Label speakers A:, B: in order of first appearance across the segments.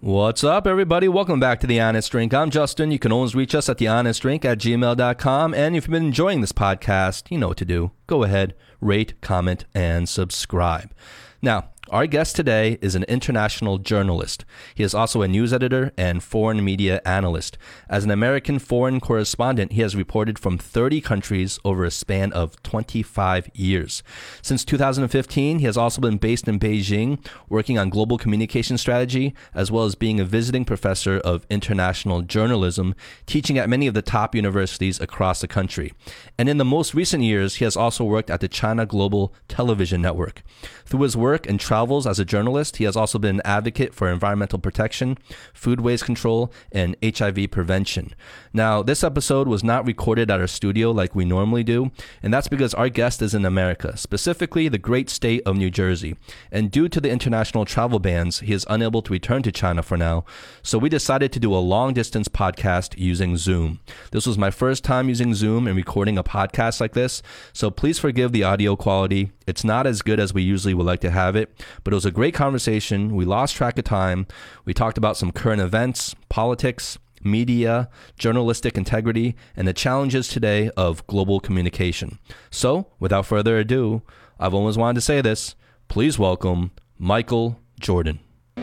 A: What's up, everybody? Welcome back to The Honest Drink. I'm Justin. You can always reach us at thehonestdrink@gmail.com. And if you've been enjoying this podcast, you know what to do. Go ahead, rate, comment, and subscribe. Now, our guest today is an international journalist. He is also a news editor and foreign media analyst. As an American foreign correspondent, he has reported from 30 countries over a span of 25 years. Since 2015, he has also been based in Beijing, working on global communication strategy, as well as being a visiting professor of international journalism, teaching at many of the top universities across the country. And in the most recent years, he has also worked at the China Global Television Network. Through his work and travels as a journalist, he has also been an advocate for environmental protection, food waste control, and HIV prevention. Now, this episode was not recorded at our studio like we normally do, and that's because our guest is in America, specifically the great state of New Jersey. And due to the international travel bans, he is unable to return to China for now. So we decided to do a long-distance podcast using Zoom. This was my first time using Zoom and recording a podcast like this, so please forgive the audio quality. It's not as good as we usually would like to have it, but it was a great conversation. We lost track of time. We talked about some current events, politics, media, journalistic integrity, and the challenges today of global communication. So, without further ado, I've always wanted to say this. Please welcome Michael Jordan.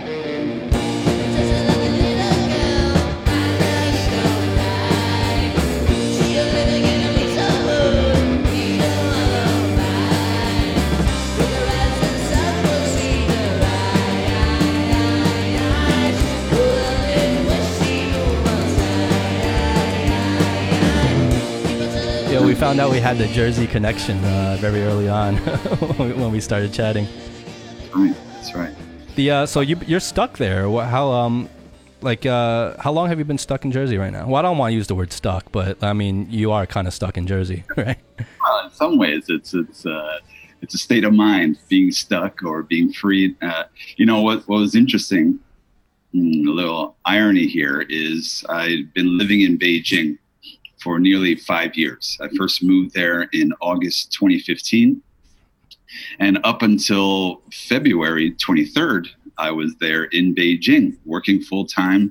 A: We found out we had the Jersey connection very early on when we started chatting.
B: That's right.
A: So you're stuck there. How long have you been stuck in Jersey right now? Well, I don't want to use the word stuck, but I mean you are kind of stuck in Jersey, right?
B: Well, in some ways, it's a state of mind, being stuck or being freed. What was interesting, a little irony here, is I've been living in Beijing for nearly 5 years. I first moved there in August 2015. And up until February 23rd, I was there in Beijing, working full time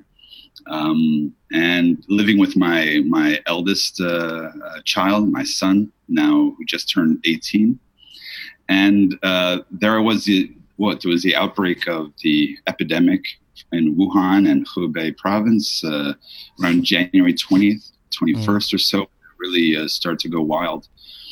B: and living with my eldest child, my son, now who just turned 18. And there was the outbreak of the epidemic in Wuhan and Hubei province around January 20th. 21st or so, really start to go wild.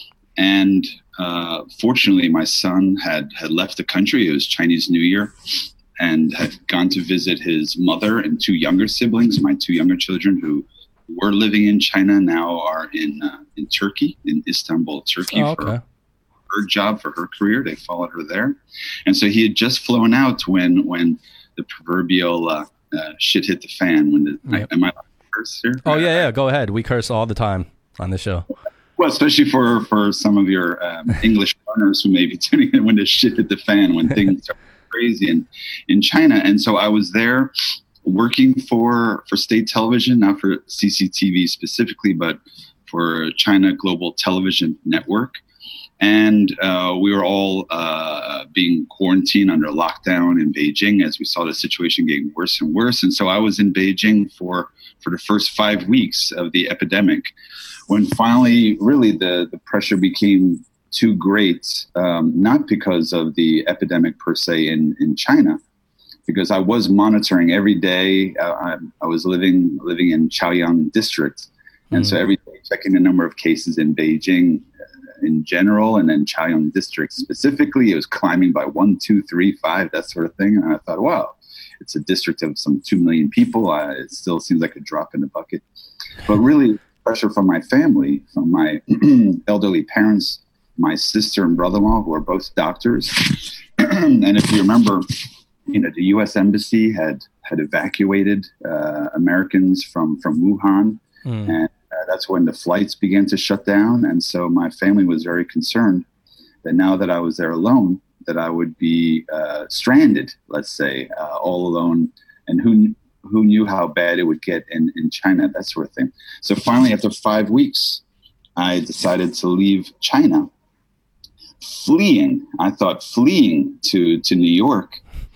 B: And fortunately, my son had left the country. It was Chinese New Year and had gone to visit his mother and two younger siblings. My two younger children who were living in China now are in Turkey, in Istanbul, Turkey, for her job, for her career. They followed her there. And so he had just flown out when the proverbial shit hit the fan. Am I curse here?
A: Oh, yeah. Go ahead. We curse all the time on the show.
B: Well, especially for some of your English learners who may be tuning in when the shit hit the fan, when things are crazy in China. And so I was there working for state television, not for CCTV specifically, but for China Global Television Network. And we were all being quarantined under lockdown in Beijing as we saw the situation getting worse and worse. And so I was in Beijing for the first 5 weeks of the epidemic, when finally really the pressure became too great, not because of the epidemic per se in China, because I was monitoring every day. I was living in Chaoyang district. And so every day checking the number of cases in Beijing in general, and then Chaoyang district specifically, it was climbing by 1, 2, 3, 5, that sort of thing. And I thought, wow, it's a district of some 2 million people. It still seems like a drop in the bucket. But really, pressure from my family, from my elderly parents, my sister and brother-in-law, who are both doctors. And if you remember, the U.S. Embassy had evacuated Americans from Wuhan. And that's when the flights began to shut down. And so my family was very concerned that now that I was there alone, that I would be stranded, let's say, all alone. And who knew how bad it would get in China, that sort of thing. So finally, after 5 weeks, I decided to leave China, fleeing to New York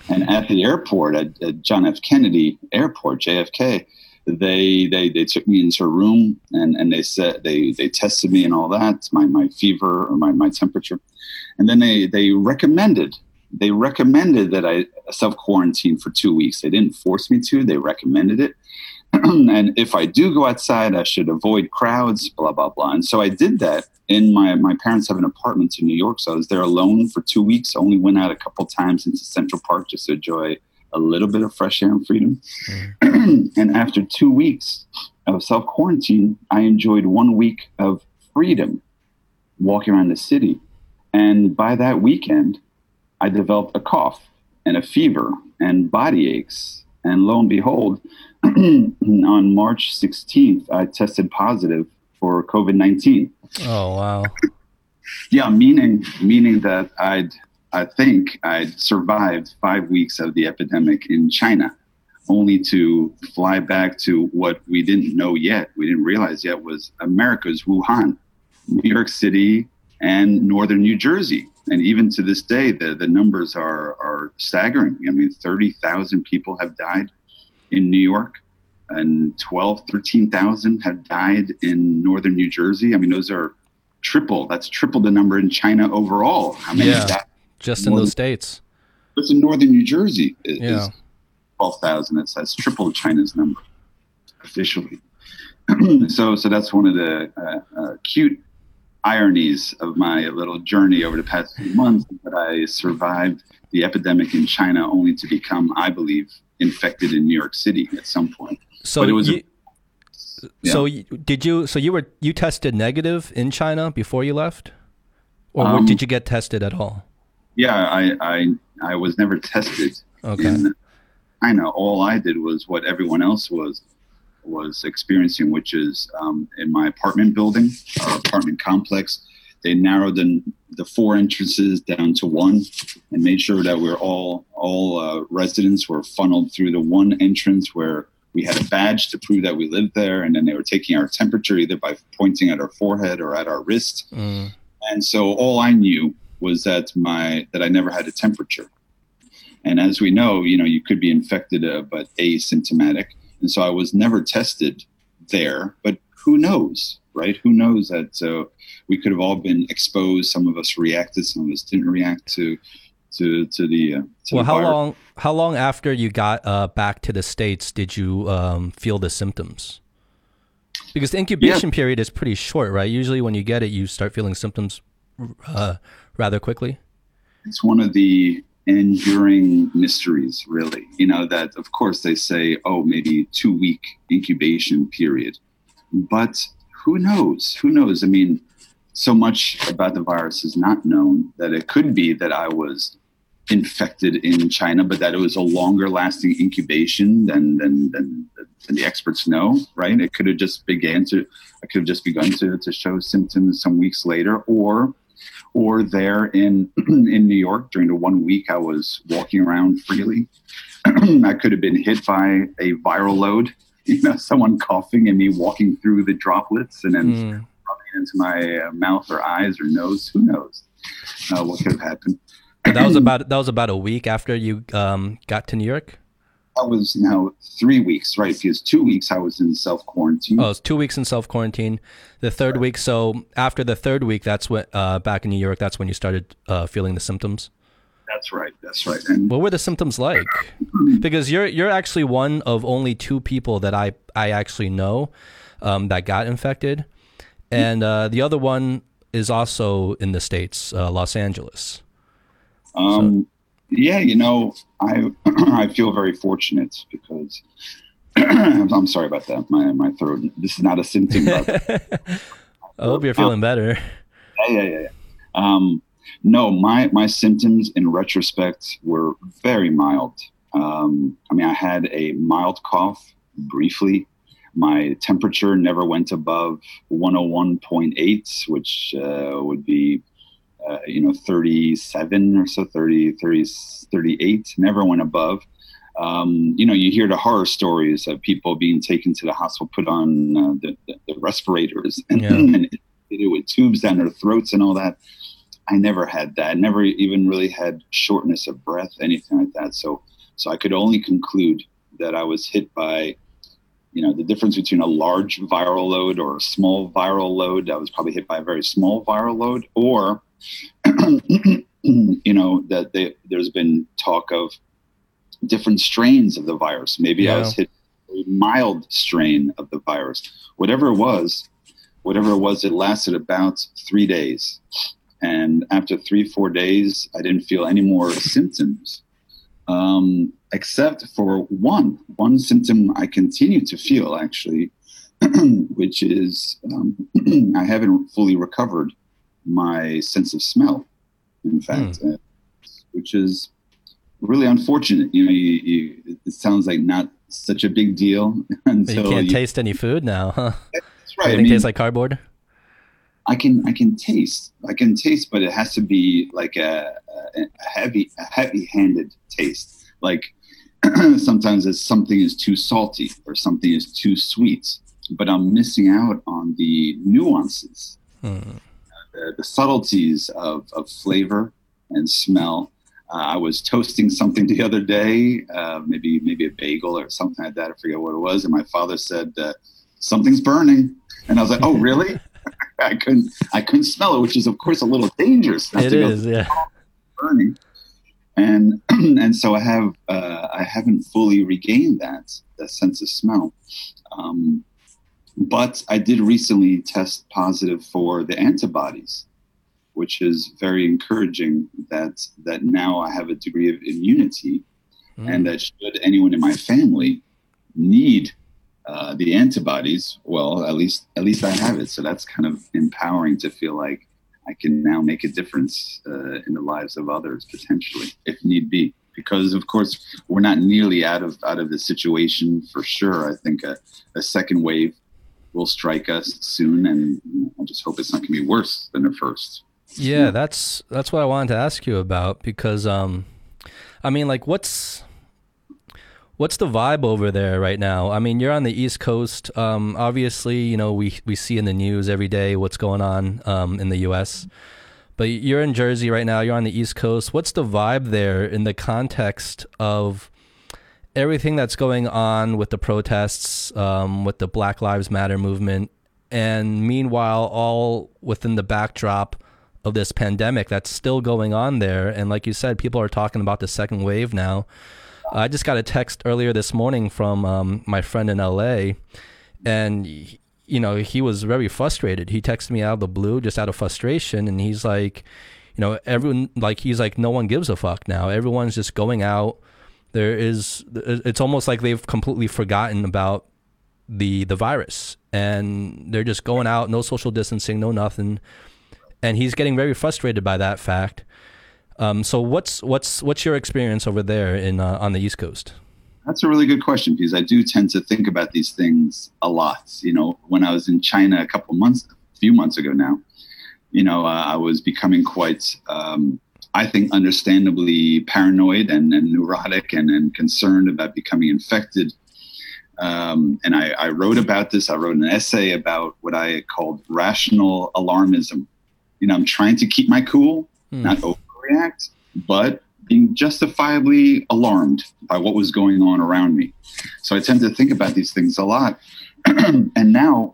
B: And at the airport, at John F. Kennedy Airport, JFK, they took me into a room and they said they tested me and all that, my fever or my temperature, and then they recommended that I self-quarantine for 2 weeks. They didn't force me to. They recommended it. And if I do go outside, I should avoid crowds, blah, blah, blah. And so I did that. My parents have an apartment in New York, so I was there alone for 2 weeks. I only went out a couple times into Central Park just to enjoy a little bit of fresh air and freedom. And after 2 weeks of self-quarantine, I enjoyed 1 week of freedom walking around the city. And by that weekend, I developed a cough and a fever and body aches. And lo and behold, on March 16th, I tested positive for COVID-19.
A: Oh, wow.
B: Yeah, meaning that I think I'd survived 5 weeks of the epidemic in China, only to fly back to what we didn't know yet, we didn't realize yet, was America's Wuhan, New York City, and northern New Jersey. And even to this day, the numbers are staggering. I mean, 30,000 people have died in New York, and 13,000 have died in northern New Jersey. I mean, those are that's triple the number in China overall. How many died?
A: Just in those states.
B: But in northern New Jersey is 12,000. That's triple China's number officially. So that's one of the cute ironies of my little journey over the past few months, that I survived the epidemic in China only to become, I believe, infected in New York City at some point.
A: So
B: but it was
A: you tested negative in China before you left, or did you get tested at all?
B: Yeah, I was never tested.
A: Okay.
B: In China. All I did was what everyone else was experiencing, which is in my apartment building, our apartment complex. They narrowed the 4 entrances down to 1 and made sure that we're all residents were funneled through the one entrance where we had a badge to prove that we lived there. And then they were taking our temperature either by pointing at our forehead or at our wrist. And so all I knew was that I never had a temperature. And as we know, you could be infected, but asymptomatic. And so I was never tested there, but who knows, right? Who knows that we could have all been exposed. Some of us reacted, some of us didn't react to the
A: virus. How long after you got back to the States did you feel the symptoms? Because the incubation period is pretty short, right? Usually when you get it, you start feeling symptoms rather quickly. It's
B: one of the enduring mysteries, really, that of course they say, maybe 2-week incubation period, but who knows? I mean, so much about the virus is not known, that it could be that I was infected in China, but that it was a longer lasting incubation than the experts know, right? It could have just begun to show symptoms some weeks later, or there in New York during the 1 week I was walking around freely. I could have been hit by a viral load, someone coughing and me walking through the droplets and then rubbing into my mouth or eyes or nose. Who knows what could have happened?
A: But that was about a week after you got to New York?
B: That was now 3 weeks, right? Because 2 weeks I was in self-quarantine.
A: Oh, it was 2 weeks in self-quarantine. The third week, so after the third week, that's when, back in New York, that's when you started feeling the symptoms?
B: That's right. And
A: what were the symptoms like? Because you're actually one of only 2 people that I actually know that got infected. And the other one is also in the States, Los Angeles.
B: Yeah, I feel very fortunate because I'm sorry about that. My throat. This is not a symptom. But,
A: I hope you're feeling better.
B: Yeah. No, my symptoms in retrospect were very mild. I had a mild cough briefly. My temperature never went above 101.8, which would be 37 or so, 38, never went above. You hear the horror stories of people being taken to the hospital, put on the respirators and, and with tubes down their throats and all that. I never had that. Never even really had shortness of breath, anything like that. So I could only conclude that I was hit by, the difference between a large viral load or a small viral load. I was probably hit by a very small viral load, or, that there's been talk of different strains of the virus. Maybe I was hit a mild strain of the virus. Whatever it was, it lasted about 3 days. And after 3-4 days, I didn't feel any more symptoms, except for one symptom I continue to feel, actually, which is I haven't fully recovered my sense of smell, in fact, which is really unfortunate. It sounds like not such a big deal until
A: you can't taste any food now, huh?
B: That's right.
A: Everything tastes like cardboard.
B: I can taste, but it has to be like a heavy-handed taste. Like sometimes something is too salty or something is too sweet, but I'm missing out on the nuances, the subtleties of flavor and smell. I was toasting something the other day, maybe a bagel or something like that. I forget what it was, and my father said, "Something's burning," and I was like, "Oh, really?" I couldn't smell it, which is of course a little dangerous.
A: It is, yeah.
B: Burning, and so I haven't fully regained that sense of smell. But I did recently test positive for the antibodies, which is very encouraging. That now I have a degree of immunity, and that should anyone in my family need the antibodies, well, at least I have it. So that's kind of empowering to feel like I can now make a difference in the lives of others, potentially, if need be. Because of course we're not nearly out of the situation for sure. I think a second wave will strike us soon, and I just hope it's not going to be worse than the first.
A: Yeah, that's what I wanted to ask you about, because what's the vibe over there right now? I mean, you're on the East Coast. Obviously, we see in the news every day what's going on in the U.S., but you're in Jersey right now. You're on the East Coast. What's the vibe there in the context of everything that's going on with the protests, with the Black Lives Matter movement, and meanwhile, all within the backdrop of this pandemic that's still going on there? And like you said, people are talking about the second wave now. I just got a text earlier this morning from my friend in LA, and he was very frustrated. He texted me out of the blue, just out of frustration, and he's like, everyone, no one gives a fuck now. Everyone's just going out. It's almost like they've completely forgotten about the virus, and they're just going out, no social distancing, no nothing. And he's getting very frustrated by that fact. So what's your experience over there on the East Coast?
B: That's a really good question, because I do tend to think about these things a lot. When I was in China a few months ago now, I was becoming quite, I think, understandably paranoid and neurotic and concerned about becoming infected. And I wrote about this. I wrote an essay about what I called rational alarmism. I'm trying to keep my cool, not overreact, but being justifiably alarmed by what was going on around me. So I tend to think about these things a lot. And now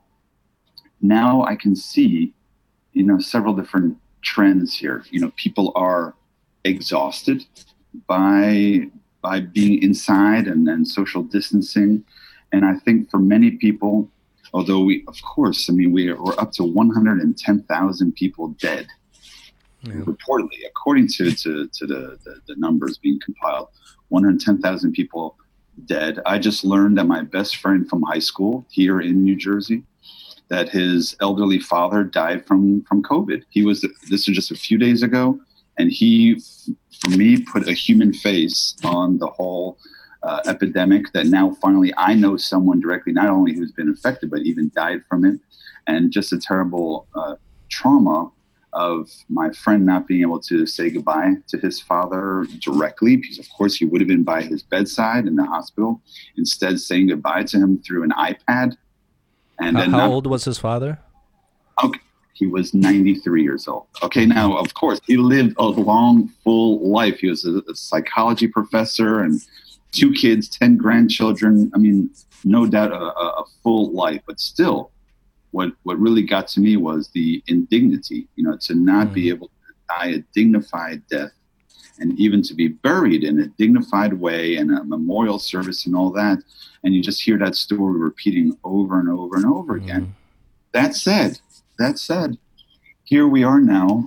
B: I can see, several different trends here. People are exhausted by being inside and social distancing. And I think for many people, although we're up to 110,000 people dead. Yeah. Reportedly, according to the numbers being compiled, 110,000 people dead. I just learned that my best friend from high school here in New Jersey, that his elderly father died from COVID. This was just a few days ago, and he, for me, put a human face on the whole epidemic, that now finally I know someone directly, not only who's been infected, but even died from it. And just a terrible trauma of my friend not being able to say goodbye to his father directly, because of course he would have been by his bedside in the hospital, instead saying goodbye to him through an iPad. And
A: how old was his father?
B: Okay, He was 93 years old. Okay, now, of course, he lived a long, full life. He was a psychology professor and 2 kids, 10 grandchildren. I mean, no doubt a full life. But still, what really got to me was the indignity, to not be able to die a dignified death, and even to be buried in a dignified way and a memorial service and all that. And you just hear that story repeating over and over and over again. That said, here we are now.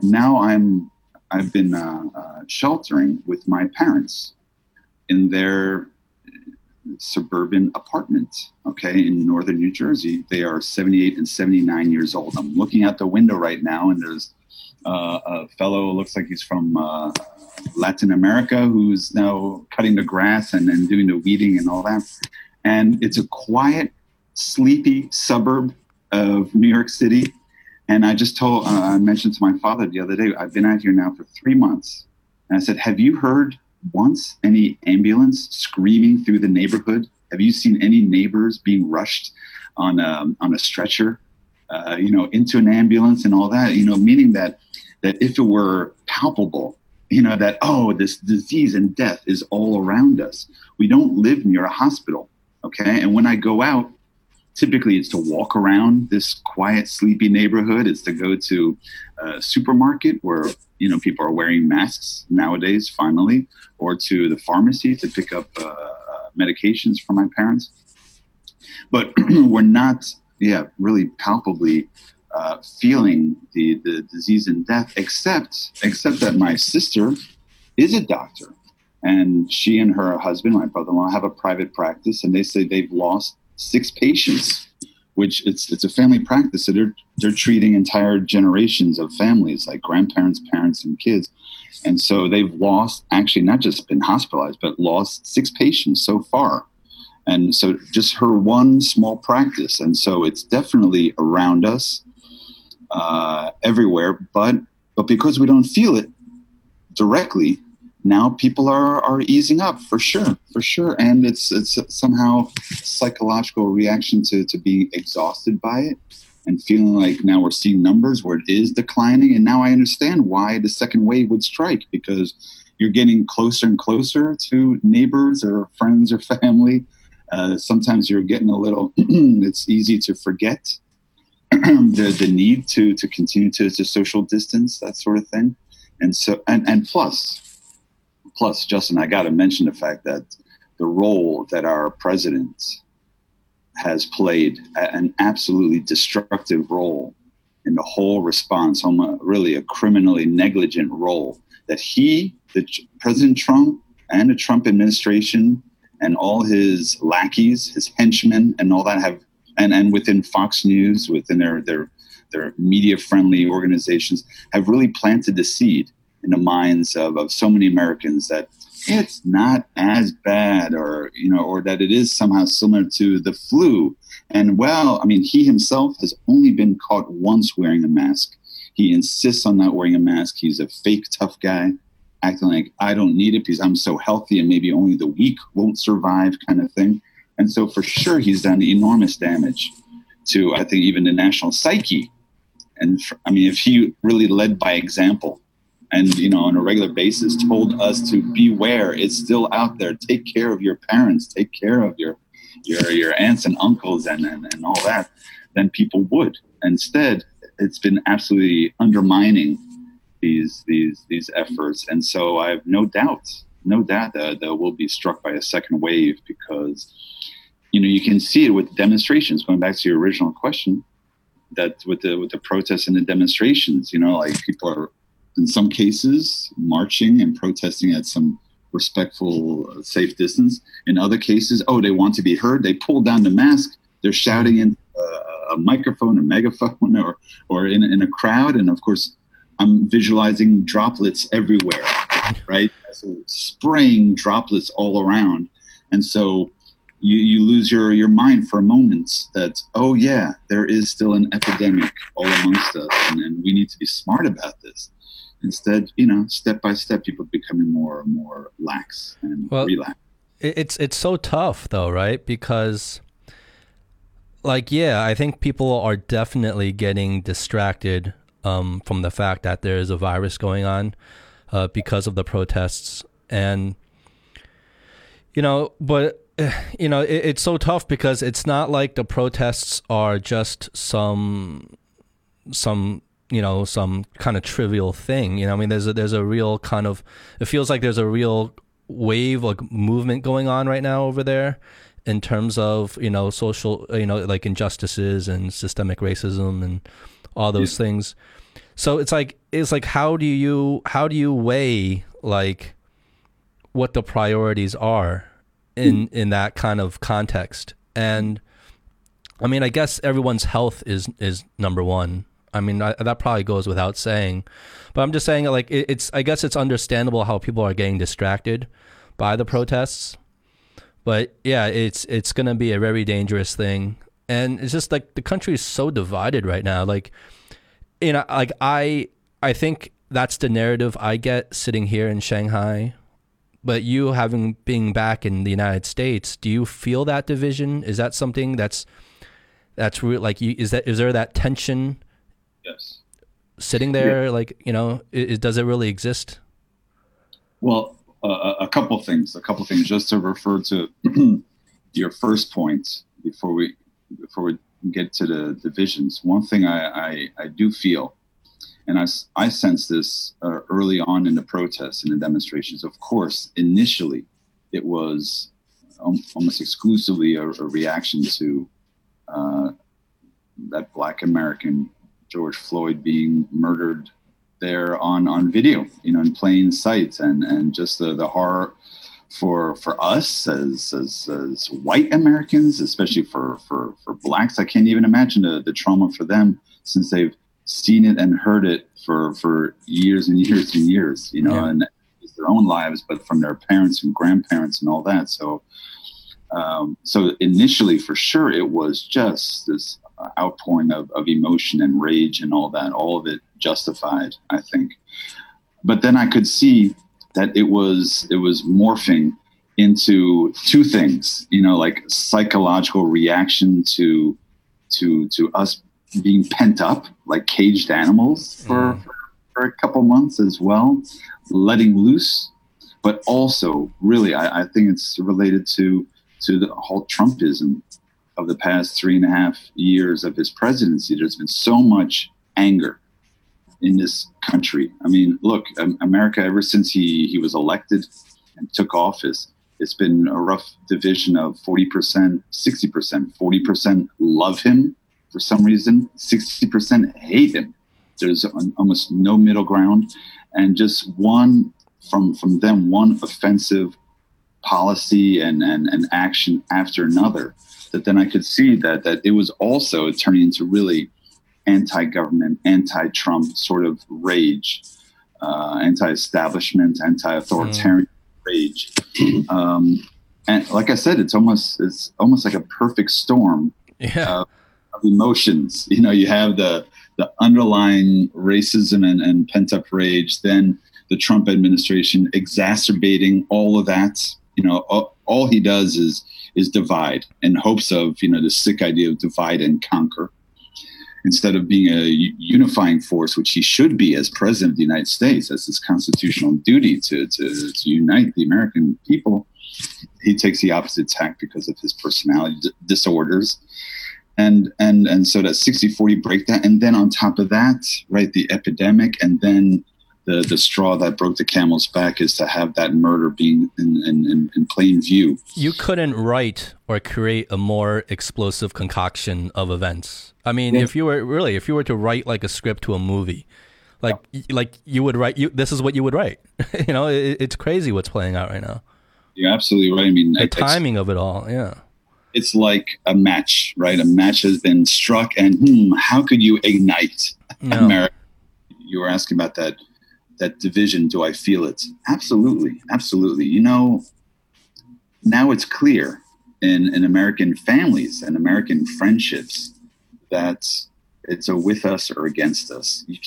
B: I've been sheltering with my parents in their suburban apartment, okay, in northern New Jersey. They are 78 and 79 years old. I'm looking out the window right now, and there's a fellow, looks like he's from Latin America, who's now cutting the grass and doing the weeding and all that. And it's a quiet, sleepy suburb of New York City. And I mentioned to my father the other day, I've been out here now for 3 months. And I said, have you heard once any ambulance screaming through the neighborhood? Have you seen any neighbors being rushed on a stretcher, into an ambulance and all that? Meaning that if it were palpable, that, this disease and death is all around us. We don't live near a hospital, okay? And when I go out, typically it's to walk around this quiet, sleepy neighborhood. It's to go to a supermarket where, people are wearing masks nowadays, finally, or to the pharmacy to pick up medications for my parents. But we're not, really palpably feeling the disease and death, except that my sister is a doctor. And she and her husband, my brother-in-law, have a private practice, and they say they've lost 6 patients, which it's a family practice. So they're treating entire generations of families, like grandparents, parents, and kids. And so they've lost, actually not just been hospitalized, but lost 6 patients so far. And so just her one small practice. And so it's definitely around us everywhere. But because we don't feel it directly, now people are easing up for sure. And it's somehow psychological reaction to being exhausted by it and feeling like now we're seeing numbers where it is declining. And now I understand why the second wave would strike, because you're getting closer and closer to neighbors or friends or family. Sometimes you're getting a little, it's easy to forget the need to continue to social distance, that sort of thing. And so, and plus, Justin, I got to mention the fact that the role that our president has played, an absolutely destructive role in the whole response, really a criminally negligent role that President Trump and the Trump administration and all his lackeys, his henchmen and all that have, and within Fox News, within their media-friendly organizations, have really planted the seed in the minds of so many Americans that it's not as bad, or that it is somehow similar to the flu. And he himself has only been caught once wearing a mask. He insists on not wearing a mask. He's a fake tough guy, acting like I don't need it because I'm so healthy and maybe only the weak won't survive, kind of thing. And so for sure, he's done enormous damage to, I think, even the national psyche. And if he really led by example, and, on a regular basis told us to beware, it's still out there. Take care of your parents, take care of your aunts and uncles and all that, then people would. Instead, it's been absolutely undermining these efforts. And so I have no doubt that we'll be struck by a second wave, because, you can see it with demonstrations, going back to your original question, that with the protests and the demonstrations, like people are, in some cases, marching and protesting at some respectful, safe distance. In other cases, they want to be heard. They pull down the mask. They're shouting in a microphone, a megaphone, or in a crowd. And of course, I'm visualizing droplets everywhere, right? So spraying droplets all around. And so you lose your mind for a moment that, there is still an epidemic all amongst us, and we need to be smart about this. Instead, step by step, people are becoming more and more lax and relaxed.
A: It's so tough, though, right? Because like, yeah, I think people are definitely getting distracted from the fact that there is a virus going on because of the protests. And, but, it's so tough because it's not like the protests are just some kind of trivial thing. I mean, there's a real kind of, it feels like there's a real wave, like movement going on right now over there in terms of, social, like injustices and systemic racism and all those things. So it's like how do you weigh like what the priorities are in that kind of context? And I mean, I guess everyone's health is number one. I mean, that probably goes without saying, but I'm just saying, like, I guess it's understandable how people are getting distracted by the protests. But yeah, it's going to be a very dangerous thing. And it's just like the country is so divided right now. Like, like I think that's the narrative I get sitting here in Shanghai. But you being back in the United States, do you feel that division? Is that something that's real? Like, is there that tension?
B: Yes.
A: Sitting there, yeah. Like, does it really exist?
B: Well, a couple things, just to refer to your first point before we get to the divisions. One thing I do feel, and I sense this early on in the protests and the demonstrations. Of course, initially, it was almost exclusively a reaction to that Black American George Floyd being murdered there on video, in plain sight, and just the horror for us as white Americans, especially for Blacks. I can't even imagine the trauma for them, since they've seen it and heard it for years and years and years,
A: Yeah.
B: And it's their own lives, but from their parents and grandparents and all that. So initially, for sure, it was just this outpouring of emotion and rage and all that, all of it justified, I think. But then I could see that it was morphing into two things, like psychological reaction to us being pent up like caged animals for a couple months as well, letting loose. But also, really, I think it's related to the whole Trumpism of the past 3.5 years of his presidency. There's been so much anger in this country. I mean, look, America, ever since he was elected and took office, it's been a rough division of 40%, 60%. 40% love him for some reason, 60% hate him. There's almost no middle ground. And just one offensive policy and action after another, that then I could see that it was also turning into really anti-government, anti-Trump sort of rage, anti-establishment, anti-authoritarian rage. And like I said, it's almost like a perfect storm of emotions. You have the underlying racism and pent-up rage, then the Trump administration exacerbating all of that. All he does is divide, in hopes of, the sick idea of divide and conquer, instead of being a unifying force, which he should be as president of the United States. That's his constitutional duty to unite the American people. He takes the opposite tack because of his personality disorders. And so that 60-40 breakdown. And then on top of that, right, the epidemic, and then the straw that broke the camel's back is to have that murder being in plain view.
A: You couldn't write or create a more explosive concoction of events. I mean, if you were to write like a script to a movie, like you would write, this is what you would write. It's crazy what's playing out right now.
B: You're absolutely right. I mean,
A: the timing of it all. Yeah.
B: It's like a match, right? A match has been struck, and how could you ignite America? You were asking about that division. Do I feel it? Absolutely. Absolutely. Now it's clear in American families and American friendships that it's a with us or against us. You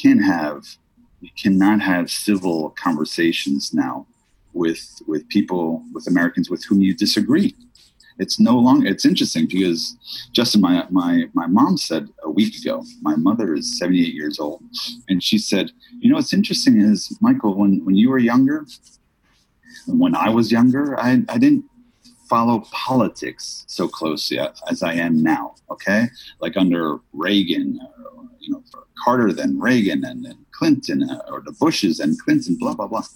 B: cannot have civil conversations now with people, with Americans with whom you disagree. It's no longer. It's interesting because Justin, my mom said a week ago. My mother is 78 years old, and she said, what's interesting is, Michael, when you were younger, when I was younger, I didn't follow politics so closely as I am now. Okay, like under Reagan, for Carter, then Reagan, and then Clinton, or the Bushes and Clinton, blah blah blah.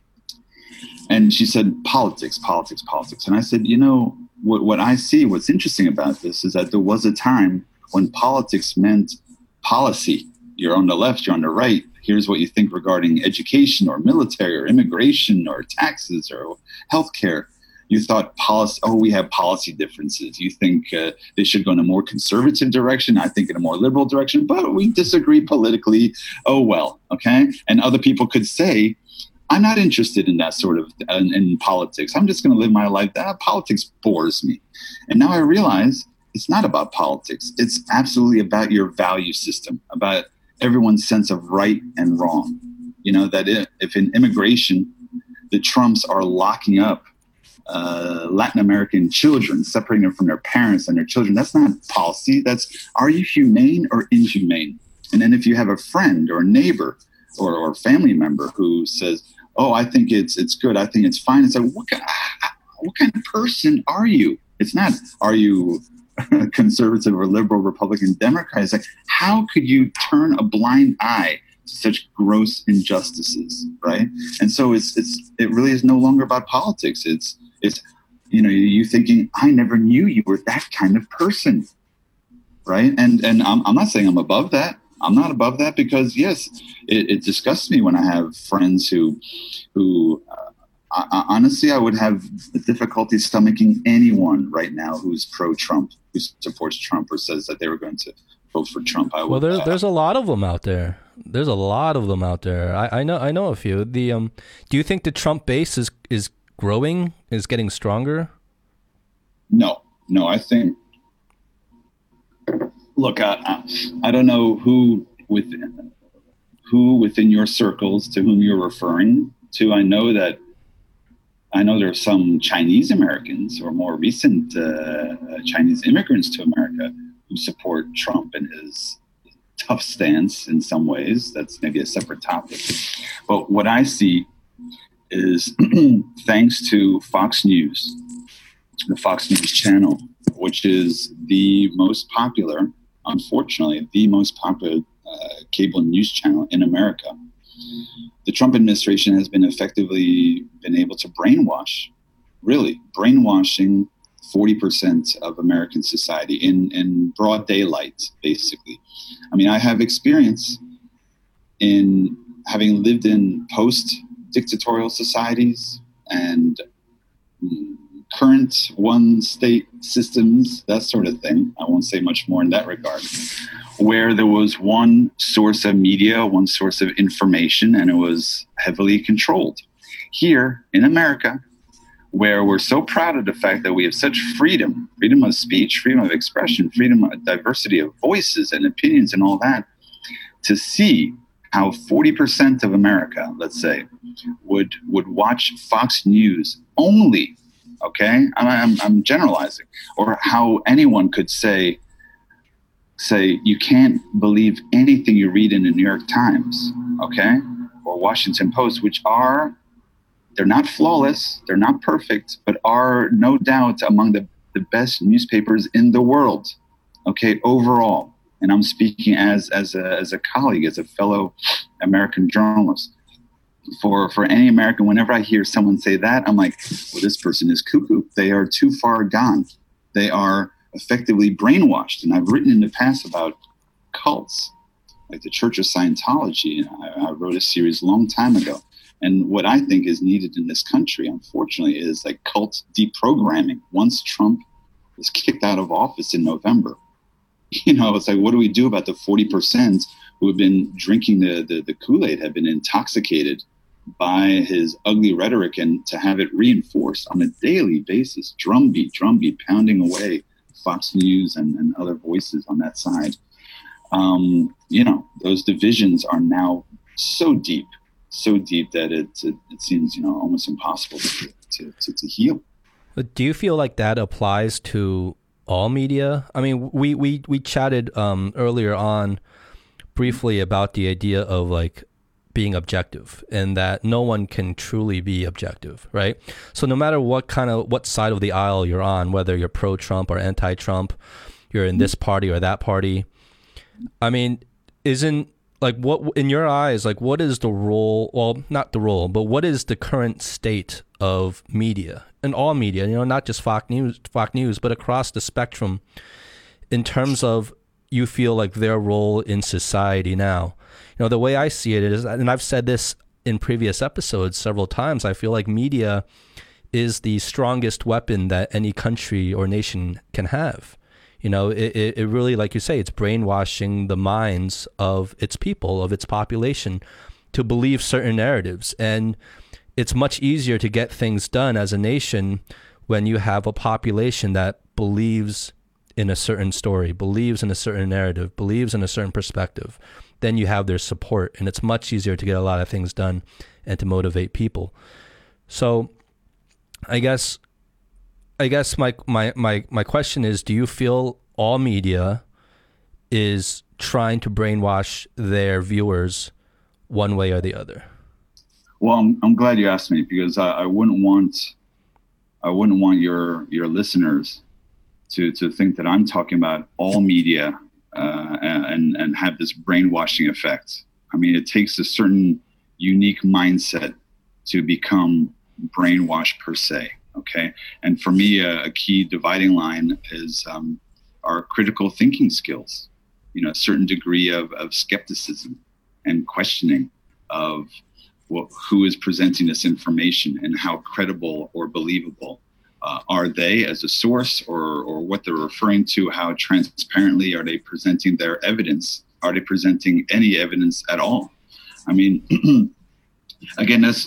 B: And she said, politics. And I said, what I see, what's interesting about this is that there was a time when politics meant policy. You're on the left, you're on the right. Here's what you think regarding education or military or immigration or taxes or healthcare. You thought policy, we have policy differences. You think they should go in a more conservative direction. I think in a more liberal direction, but we disagree politically. Oh, well, okay. And other people could say, I'm not interested in that sort of in politics. I'm just going to live my life. Politics bores me. And now I realize it's not about politics. It's absolutely about your value system, about everyone's sense of right and wrong. That if in immigration, the Trumps are locking up Latin American children, separating them from their parents and their children, that's not policy. That's, are you humane or inhumane? And then if you have a friend or a neighbor or a family member who says, I think it's good, I think it's fine, it's like, what kind of person are you? It's not, are you conservative or liberal, Republican, Democrat? It's like, how could you turn a blind eye to such gross injustices, right? And so it really is no longer about politics. It's you thinking, I never knew you were that kind of person, right? And I'm not saying I'm above that. I'm not above that, because yes, it disgusts me when I have friends who honestly, I would have difficulty stomaching anyone right now who's pro-Trump, who supports Trump or says that they were going to vote for Trump.
A: There's a lot of them out there. There's a lot of them out there. I know a few. Do you think the Trump base is growing, is getting stronger?
B: No, I think. Look, I don't know who within your circles to whom you're referring to. I know there are some Chinese Americans or more recent Chinese immigrants to America who support Trump and his tough stance in some ways. That's maybe a separate topic. But what I see is thanks to Fox News, the Fox News channel, which is the most popular, unfortunately, the most popular cable news channel in America. The Trump administration has been effectively able to brainwashing 40% of American society in broad daylight, basically. I mean, I have experience in having lived in post-dictatorial societies and current one-state systems, that sort of thing. I won't say much more in that regard, where there was one source of media, one source of information, and it was heavily controlled. Here in America, where we're so proud of the fact that we have such freedom of speech, freedom of expression, freedom of diversity of voices and opinions and all that, to see how 40% of America, let's say, would watch Fox News only, okay? I'm generalizing. Or how anyone could say you can't believe anything you read in the New York Times, okay? Or Washington Post, which they're not flawless, they're not perfect, but are no doubt among the best newspapers in the world, okay, overall. And I'm speaking as a colleague, as a fellow American journalist. For any American, whenever I hear someone say that, I'm like, well, this person is cuckoo. They are too far gone. They are effectively brainwashed. And I've written in the past about cults, like the Church of Scientology. I wrote a series a long time ago. And what I think is needed in this country, unfortunately, is like cult deprogramming. Once Trump was kicked out of office in November, it's like, what do we do about the 40% who have been drinking the Kool-Aid, have been intoxicated by his ugly rhetoric, and to have it reinforced on a daily basis, drumbeat, pounding away Fox News and other voices on that side. Those divisions are now so deep that it seems almost impossible to heal.
A: But do you feel like that applies to all media? I mean, we chatted earlier on briefly about the idea of like being objective and that no one can truly be objective, right? So no matter what side of the aisle you're on, whether you're pro-Trump or anti-Trump, you're in this party or that party. I mean, isn't like what in your eyes, like what is the role, well, not the role, but what is the current state of media and all media, not just Fox News, but across the spectrum in terms of you feel like their role in society now? The way I see it is, and I've said this in previous episodes several times, I feel like media is the strongest weapon that any country or nation can have. It really, like you say, it's brainwashing the minds of its people, of its population, to believe certain narratives. And it's much easier to get things done as a nation when you have a population that believes in a certain story, believes in a certain narrative, believes in a certain perspective. Then you have their support, and it's much easier to get a lot of things done and to motivate people. So I guess my question is, do you feel all media is trying to brainwash their viewers one way or the other?
B: Well, I'm glad you asked me, because I wouldn't want your listeners to think that I'm talking about all media and have this brainwashing effect. I mean, it takes a certain unique mindset to become brainwashed per se. Okay. And for me, a key dividing line is our critical thinking skills, a certain degree of skepticism and questioning of who is presenting this information and how credible or believable are they as a source, or what they're referring to, how transparently are they presenting their evidence? Are they presenting any evidence at all? I mean, again, that's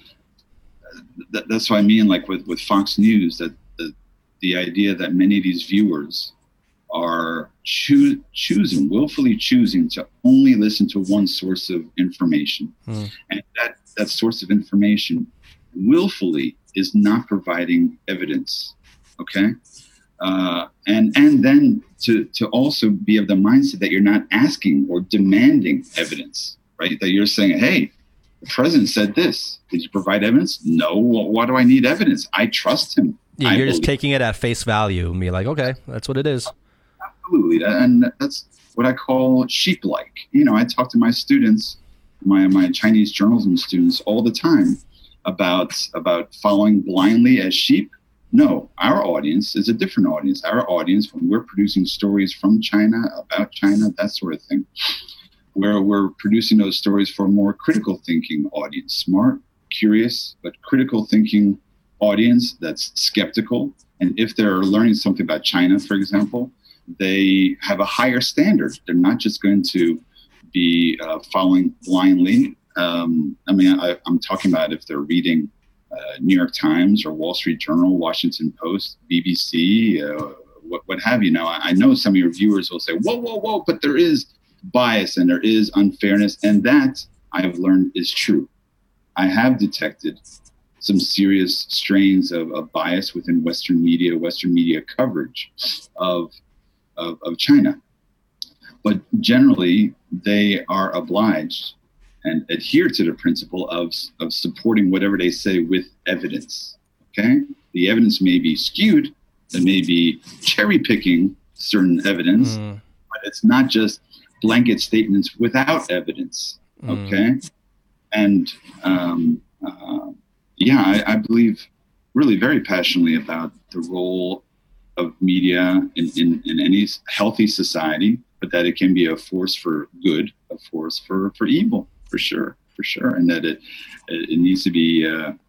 B: what I mean, like with Fox News, that the idea that many of these viewers are willfully choosing to only listen to one source of information. And that source of information willfully is not providing evidence. Okay. And then to also be of the mindset that you're not asking or demanding evidence, right? That you're saying, hey, the president said this. Did you provide evidence? No. Well, why do I need evidence? I trust him.
A: Yeah, you're just taking it at face value and be like, okay, that's what it is.
B: Absolutely. And that's what I call sheep-like. I talk to my students, my Chinese journalism students, all the time about following blindly as sheep. No, our audience is a different audience. Our audience, when we're producing stories from China, about China, that sort of thing, where we're producing those stories for a more critical thinking audience, smart, curious, but critical thinking audience that's skeptical. And if they're learning something about China, for example, they have a higher standard. They're not just going to be following blindly. I'm talking about if they're reading New York Times or Wall Street Journal, Washington Post, BBC, what have you. Now, I know some of your viewers will say, whoa, but there is bias and there is unfairness. And that, I have learned, is true. I have detected some serious strains of bias within Western media coverage of China. But generally, they are obliged and adhere to the principle of supporting whatever they say with evidence. Okay? The evidence may be skewed, it may be cherry picking certain evidence, but it's not just blanket statements without evidence. Okay? And I believe really very passionately about the role of media in any healthy society, but that it can be a force for good, a force for evil, for sure, and that it needs to be,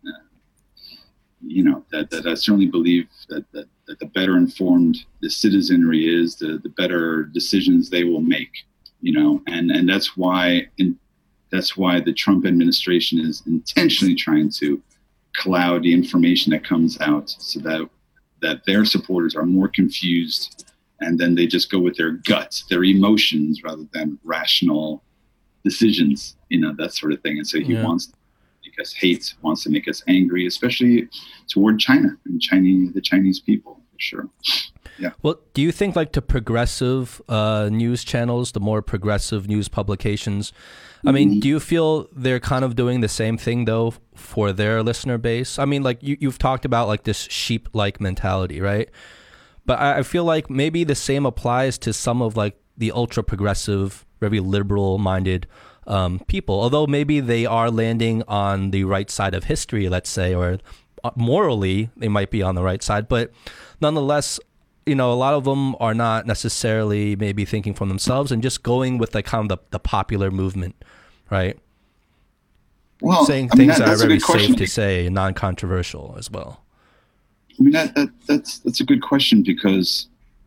B: that I certainly believe that the better informed the citizenry is, the better decisions they will make, and that's why the Trump administration is intentionally trying to cloud the information that comes out so that their supporters are more confused, and then they just go with their guts, their emotions, rather than rational decisions, that sort of thing. And so he wants to make us hate, wants to make us angry, especially toward China and the Chinese people, for sure. Yeah.
A: Well, do you think like the progressive news channels, the more progressive news publications, I mean, do you feel they're kind of doing the same thing though for their listener base? I mean, like you've talked about like this sheep-like mentality, right? But I feel like maybe the same applies to some of like the ultra progressive, very liberal minded people, although maybe they are landing on the right side of history, let's say, or morally they might be on the right side, but nonetheless, you know, a lot of them are not necessarily maybe thinking for themselves and just going with like kind of the popular movement, right?
B: Well,
A: saying things that are very safe to say and non-controversial as well.
B: I mean, that's a good question because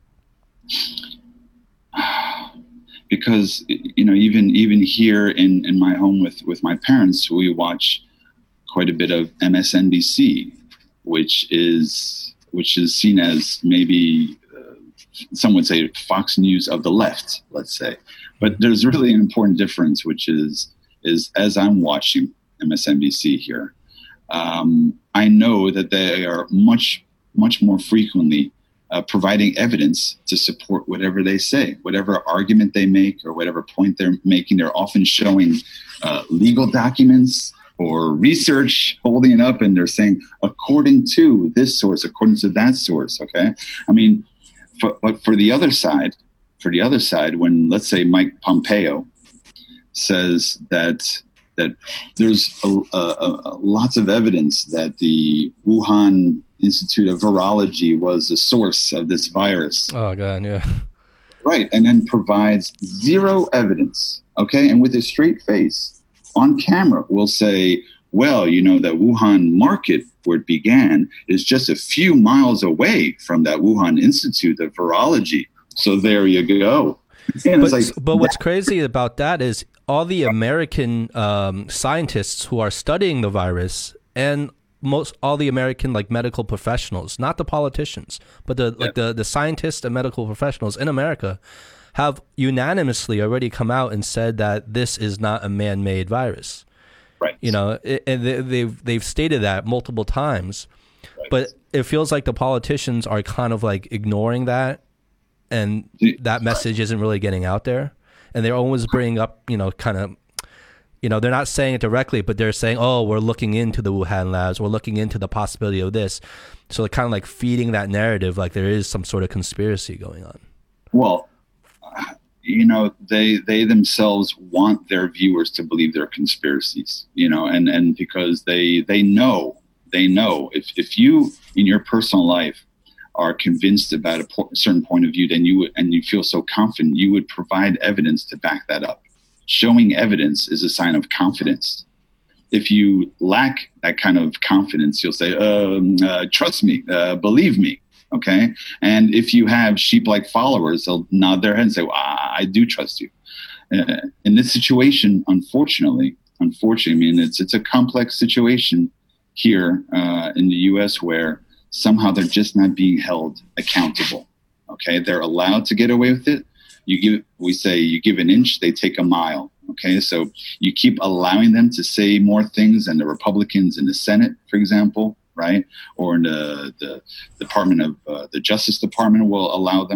B: you know, even here in my home with my parents, we watch quite a bit of MSNBC, which is seen as maybe some would say Fox News of the left, let's say. But there's really an important difference, which is as I'm watching MSNBC here, I know that they are much more frequently providing evidence to support whatever they say, whatever argument they make or whatever point they're making. They're often showing legal documents or research, holding it up, and they're saying, according to this source, according to that source, okay? I mean, but for the other side, when, let's say, Mike Pompeo says that there's lots of evidence that the Wuhan Institute of Virology was the source of this virus.
A: Oh, God, yeah.
B: Right, and then provides zero evidence, okay? And with a straight face, on camera, will say, well, you know, that Wuhan market where it began is just a few miles away from that Wuhan Institute of Virology. So there you go.
A: But what's crazy about that is all the American scientists who are studying the virus and all the American like medical professionals, not the politicians, but the scientists and medical professionals in America have unanimously already come out and said that this is not a man-made virus.
B: Right.
A: You know, and they've stated that multiple times, right. But it feels like the politicians are kind of like ignoring that, and that message isn't really getting out there. And they're always bringing up, you know, kind of, you know, they're not saying it directly, but they're saying, oh, we're looking into the Wuhan labs, we're looking into the possibility of this. So they're kind of like feeding that narrative like there is some sort of conspiracy going on.
B: Well, you know, they themselves want their viewers to believe their conspiracies, you know, and because they know if you in your personal life are convinced about a certain point of view, then you feel so confident, you would provide evidence to back that up. Showing evidence is a sign of confidence. If you lack that kind of confidence, you'll say, trust me, believe me. Okay. And if you have sheep-like followers, they'll nod their head and say, well, I do trust you. In this situation, unfortunately, I mean, it's a complex situation here in the U.S. where somehow they're just not being held accountable. Okay. They're allowed to get away with it. We say you give an inch, they take a mile. Okay. So you keep allowing them to say more things than the Republicans in the Senate, for example. Right, or in the Department of the Justice Department will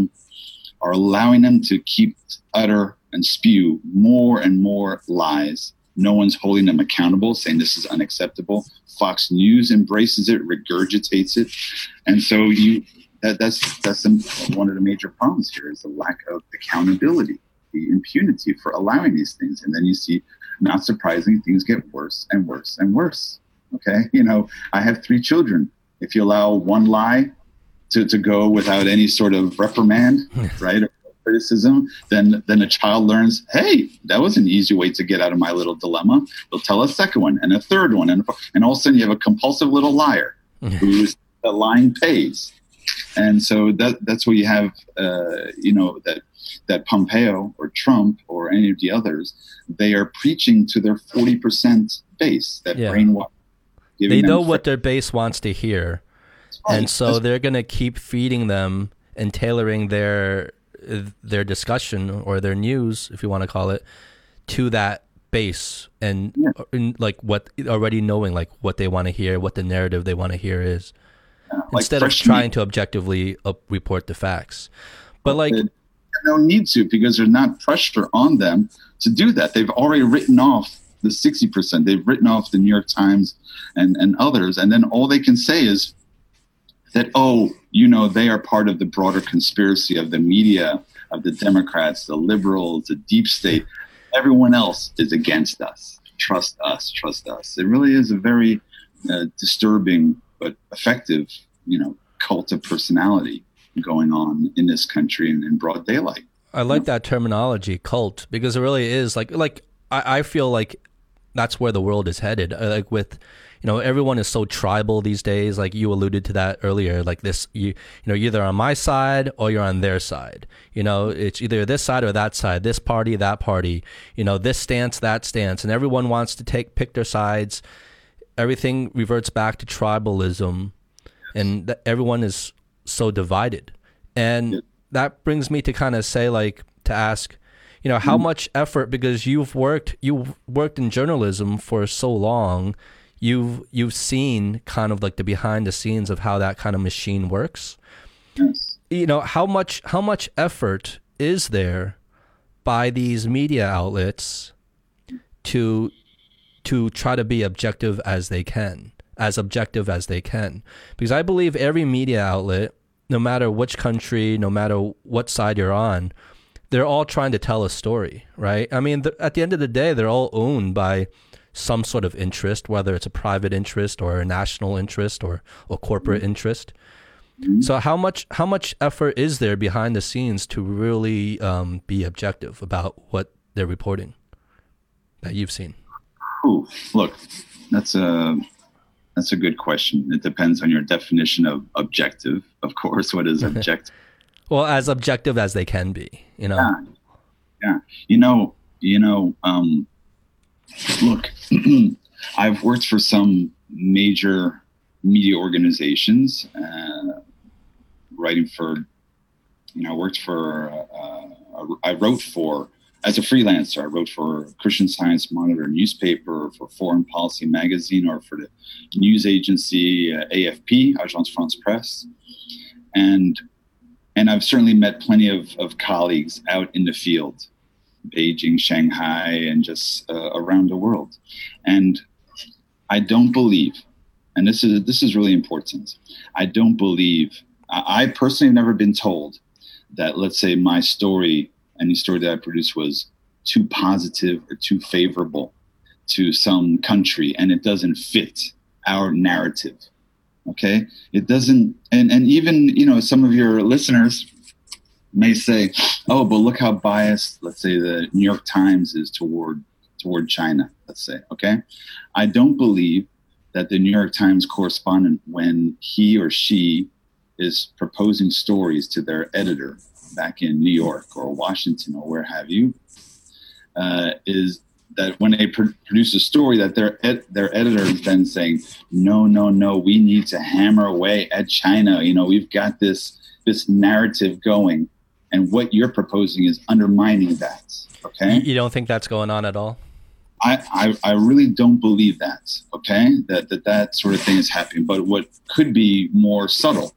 B: allowing them to keep utter and spew more and more lies. No one's holding them accountable, saying this is unacceptable. Fox News embraces it, regurgitates it, and so that's one of the major problems here is the lack of accountability, the impunity for allowing these things, and then you see, not surprising, things get worse and worse and worse. Okay, you know, I have 3 children. If you allow one lie to go without any sort of reprimand, right, or criticism, then a child learns, hey, that was an easy way to get out of my little dilemma. They'll tell a second one and a third one, and all of a sudden you have a compulsive little liar who's the lying pays. And so that's what you have, you know, that Pompeo or Trump or any of the others, they are preaching to their 40% base, that brainwash.
A: They know what their base wants to hear, and so they're going to keep feeding them and tailoring their discussion or their news, if you want to call it, to that base and
B: Yeah.
A: like what already knowing like what they want to hear, what the narrative they want to hear is,
B: Like
A: instead of
B: fresh
A: trying to objectively report the facts. But like,
B: they don't need to, because there's not pressure on them to do that. They've already written off the 60%. They've written off the New York Times and others. And then all they can say is that, oh, they are part of the broader conspiracy of the media, of the Democrats, the liberals, the deep state. Everyone else is against us. Trust us, trust us. It really is a very disturbing but effective, cult of personality going on in this country and in broad daylight.
A: I like that terminology, cult, because it really is like I feel like that's where the world is headed. Like with, everyone is so tribal these days. Like you alluded to that earlier, like this, you're either on my side or you're on their side. It's either this side or that side, this party, that party, this stance, that stance, and everyone wants to pick their sides. Everything reverts back to tribalism, and everyone is so divided. And that brings me to kind of say, like, to ask, how much effort, because you've worked in journalism for so long, you've seen kind of like the behind the scenes of how that kind of machine works.
B: Yes.
A: How much effort is there by these media outlets to try to be objective as objective as they can? Because I believe every media outlet, no matter which country, no matter what side you're on, they're all trying to tell a story, right? I mean, at the end of the day, they're all owned by some sort of interest, whether it's a private interest or a national interest or a corporate interest. Mm-hmm. So how much effort is there behind the scenes to really be objective about what they're reporting that you've seen?
B: Ooh, look, that's a good question. It depends on your definition of objective, of course. What is objective?
A: Well, as objective as they can be,
B: Yeah. Look, I've worked for some major media organizations, writing for, I wrote for, as a freelancer, I wrote for Christian Science Monitor newspaper, for Foreign Policy magazine, or for the news agency AFP, Agence France Presse. And I've certainly met plenty of colleagues out in the field, Beijing, Shanghai, and just around the world. And I don't believe, and this is really important, I don't believe, I personally have never been told that, let's say, my story, any story that I produced, was too positive or too favorable to some country, and it doesn't fit our narrative. Okay, it doesn't, and even some of your listeners may say, "Oh, but look how biased, let's say, the New York Times is toward China." Let's say, okay, I don't believe that the New York Times correspondent, when he or she is proposing stories to their editor back in New York or Washington or where have you, is that when they produce a story, that their editor is then saying, no, we need to hammer away at China. We've got this narrative going, and what you're proposing is undermining that. Okay,
A: you don't think that's going on at all?
B: I really don't believe that. Okay, that sort of thing is happening. But what could be more subtle?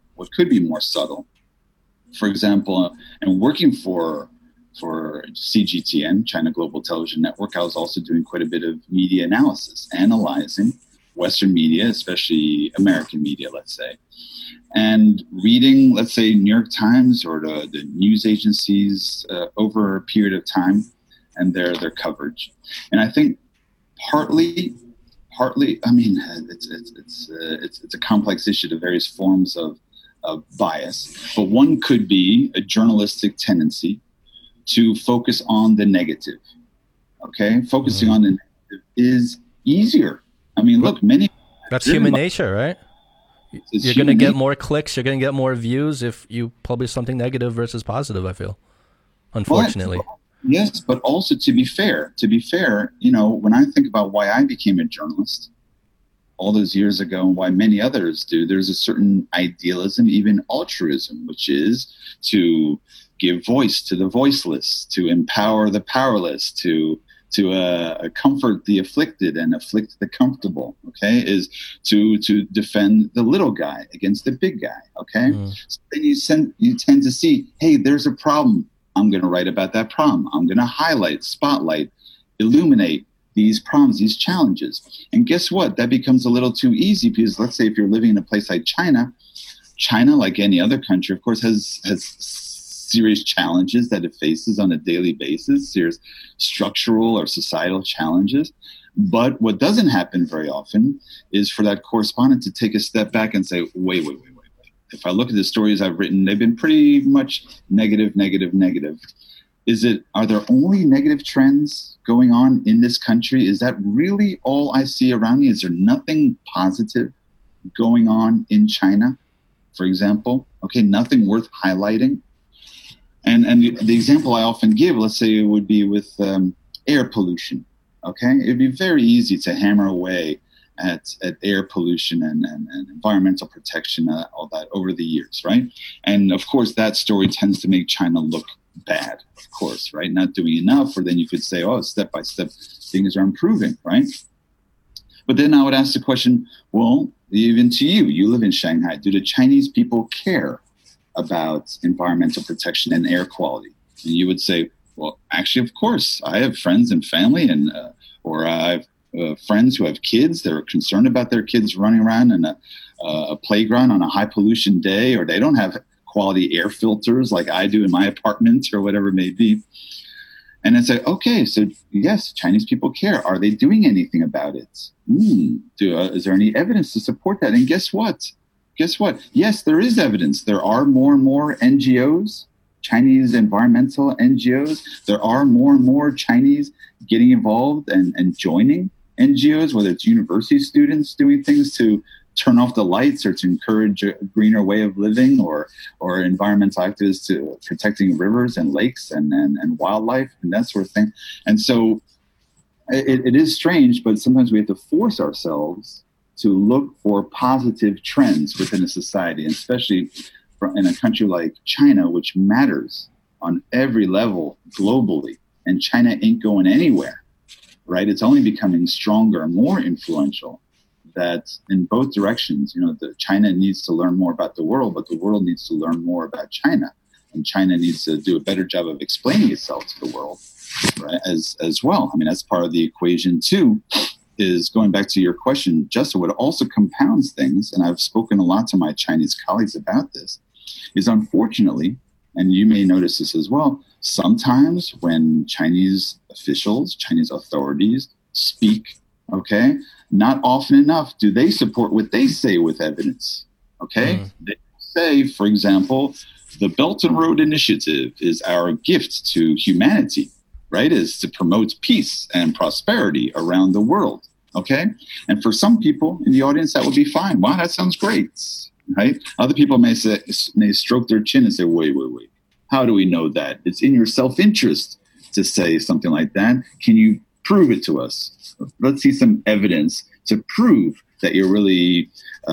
B: For example, and working for CGTN, China Global Television Network, I was also doing quite a bit of media analysis, analyzing Western media, especially American media, let's say, and reading, let's say, New York Times or the news agencies over a period of time, and their coverage. And I think partly, I mean, it's a complex issue to various forms of bias, but one could be a journalistic tendency to focus on the negative. Okay, focusing on the negative is easier. I mean, look,
A: that's human nature, right? You're going to get more clicks, you're going to get more views if you publish something negative versus positive, I feel, unfortunately.
B: Yes, but also to be fair, when I think about why I became a journalist all those years ago and why many others do, there's a certain idealism, even altruism, which is to give voice to the voiceless, to empower the powerless, to comfort the afflicted and afflict the comfortable. Okay, is to defend the little guy against the big guy. Okay, so then you tend to see, hey, there's a problem. I'm going to write about that problem. I'm going to highlight, spotlight, illuminate these problems, these challenges. And guess what? That becomes a little too easy because let's say if you're living in a place like China, like any other country, of course, has serious challenges that it faces on a daily basis, serious structural or societal challenges. But what doesn't happen very often is for that correspondent to take a step back and say, wait. If I look at the stories I've written, they've been pretty much negative. Are there only negative trends going on in this country? Is that really all I see around me? Is there nothing positive going on in China, for example? Okay, nothing worth highlighting. And the example I often give, let's say it would be with air pollution. Okay, it'd be very easy to hammer away at air pollution and environmental protection, all that over the years, right? And of course, that story tends to make China look bad, of course, right? Not doing enough, or then you could say, oh, step by step, things are improving, right? But then I would ask the question, well, even to you live in Shanghai, do the Chinese people care about environmental protection and air quality? And you would say, well, actually, of course, I have friends and family, and or I have friends who have kids that are concerned about their kids running around in a playground on a high pollution day, or they don't have quality air filters like I do in my apartment or whatever it may be. And I say, okay, so yes, Chinese people care. Are they doing anything about it? Is there any evidence to support that? And guess what? Yes, there is evidence. There are more and more NGOs, Chinese environmental NGOs. There are more and more Chinese getting involved and joining NGOs, whether it's university students doing things to turn off the lights or to encourage a greener way of living, or environmental activists to protecting rivers and lakes and wildlife and that sort of thing. And so it is strange, but sometimes we have to force ourselves to look for positive trends within a society, and especially in a country like China, which matters on every level globally. And China ain't going anywhere, right? It's only becoming stronger and more influential. That in both directions, China needs to learn more about the world, but the world needs to learn more about China. And China needs to do a better job of explaining itself to the world, right, as well. I mean, that's part of the equation too, is going back to your question, Justin, what also compounds things, and I've spoken a lot to my Chinese colleagues about this, is unfortunately, and you may notice this as well, sometimes when Chinese officials, Chinese authorities speak, okay, not often enough do they support what they say with evidence, okay? They say, for example, the Belt and Road Initiative is our gift to humanity, right? Is to promote peace and prosperity around the world, okay? And for some people in the audience, that would be fine. Wow, that sounds great, right? Other people may stroke their chin and say, wait. How do we know that? It's in your self-interest to say something like that. Can you prove it to us? Let's see some evidence to prove that you're really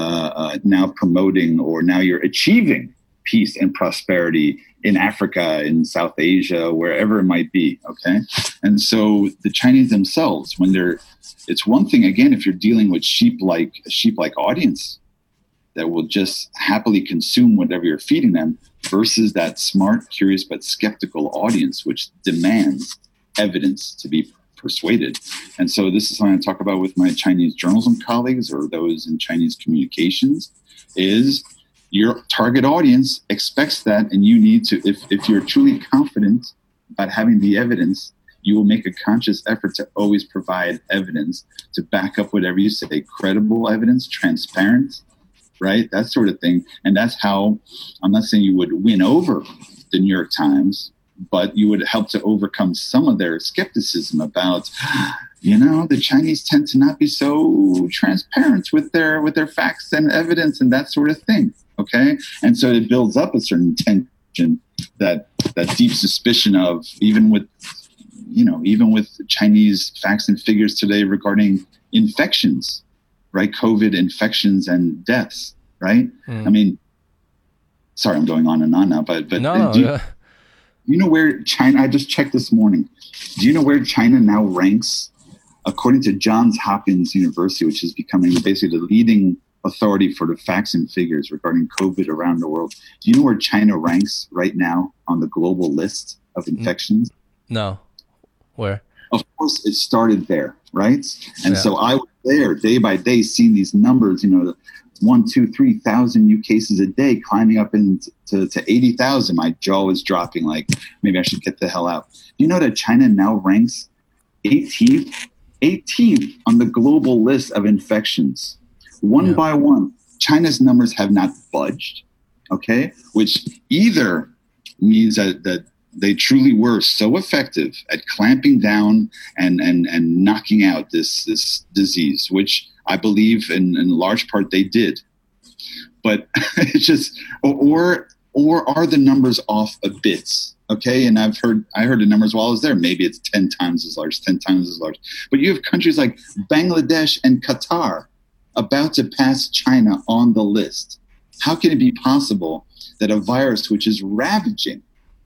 B: now promoting, or now you're achieving peace and prosperity in Africa, in South Asia, wherever it might be, okay? And so the Chinese themselves, it's one thing, again, if you're dealing with a sheep-like audience that will just happily consume whatever you're feeding them, versus that smart, curious, but skeptical audience, which demands evidence to be persuaded. And so this is something I talk about with my Chinese journalism colleagues, or those in Chinese communications, is your target audience expects that, and you need to, if you're truly confident about having the evidence, you will make a conscious effort to always provide evidence to back up whatever you say, credible evidence, transparent, right? That sort of thing. And that's how, I'm not saying you would win over the New York Times, but you would help to overcome some of their skepticism about, the Chinese tend to not be so transparent with their facts and evidence and that sort of thing. Okay. And so it builds up a certain tension, that deep suspicion of, even with Chinese facts and figures today regarding infections, right? COVID infections and deaths, right? I mean, sorry, I'm going on and on now, but
A: no.
B: You know where China, I just checked this morning. Do you know where China now ranks? According to Johns Hopkins University, which is becoming basically the leading authority for the facts and figures regarding COVID around the world. Do you know where China ranks right now on the global list of infections?
A: No. Where?
B: Of course, it started there, right? And so I was there day by day seeing these numbers, 1, 2, 3,000 new cases a day climbing up into to 80,000. My jaw was dropping like, maybe I should get the hell out. You know that China now ranks 18th on the global list of infections. One by one, China's numbers have not budged, okay? Which either means that they truly were so effective at clamping down and knocking out this disease, which I believe in large part they did. But it's just, or are the numbers off a bit? Okay, and I heard the numbers while I was there. Maybe it's 10 times as large, 10 times as large. But you have countries like Bangladesh and Qatar about to pass China on the list. How can it be possible that a virus which is ravaging,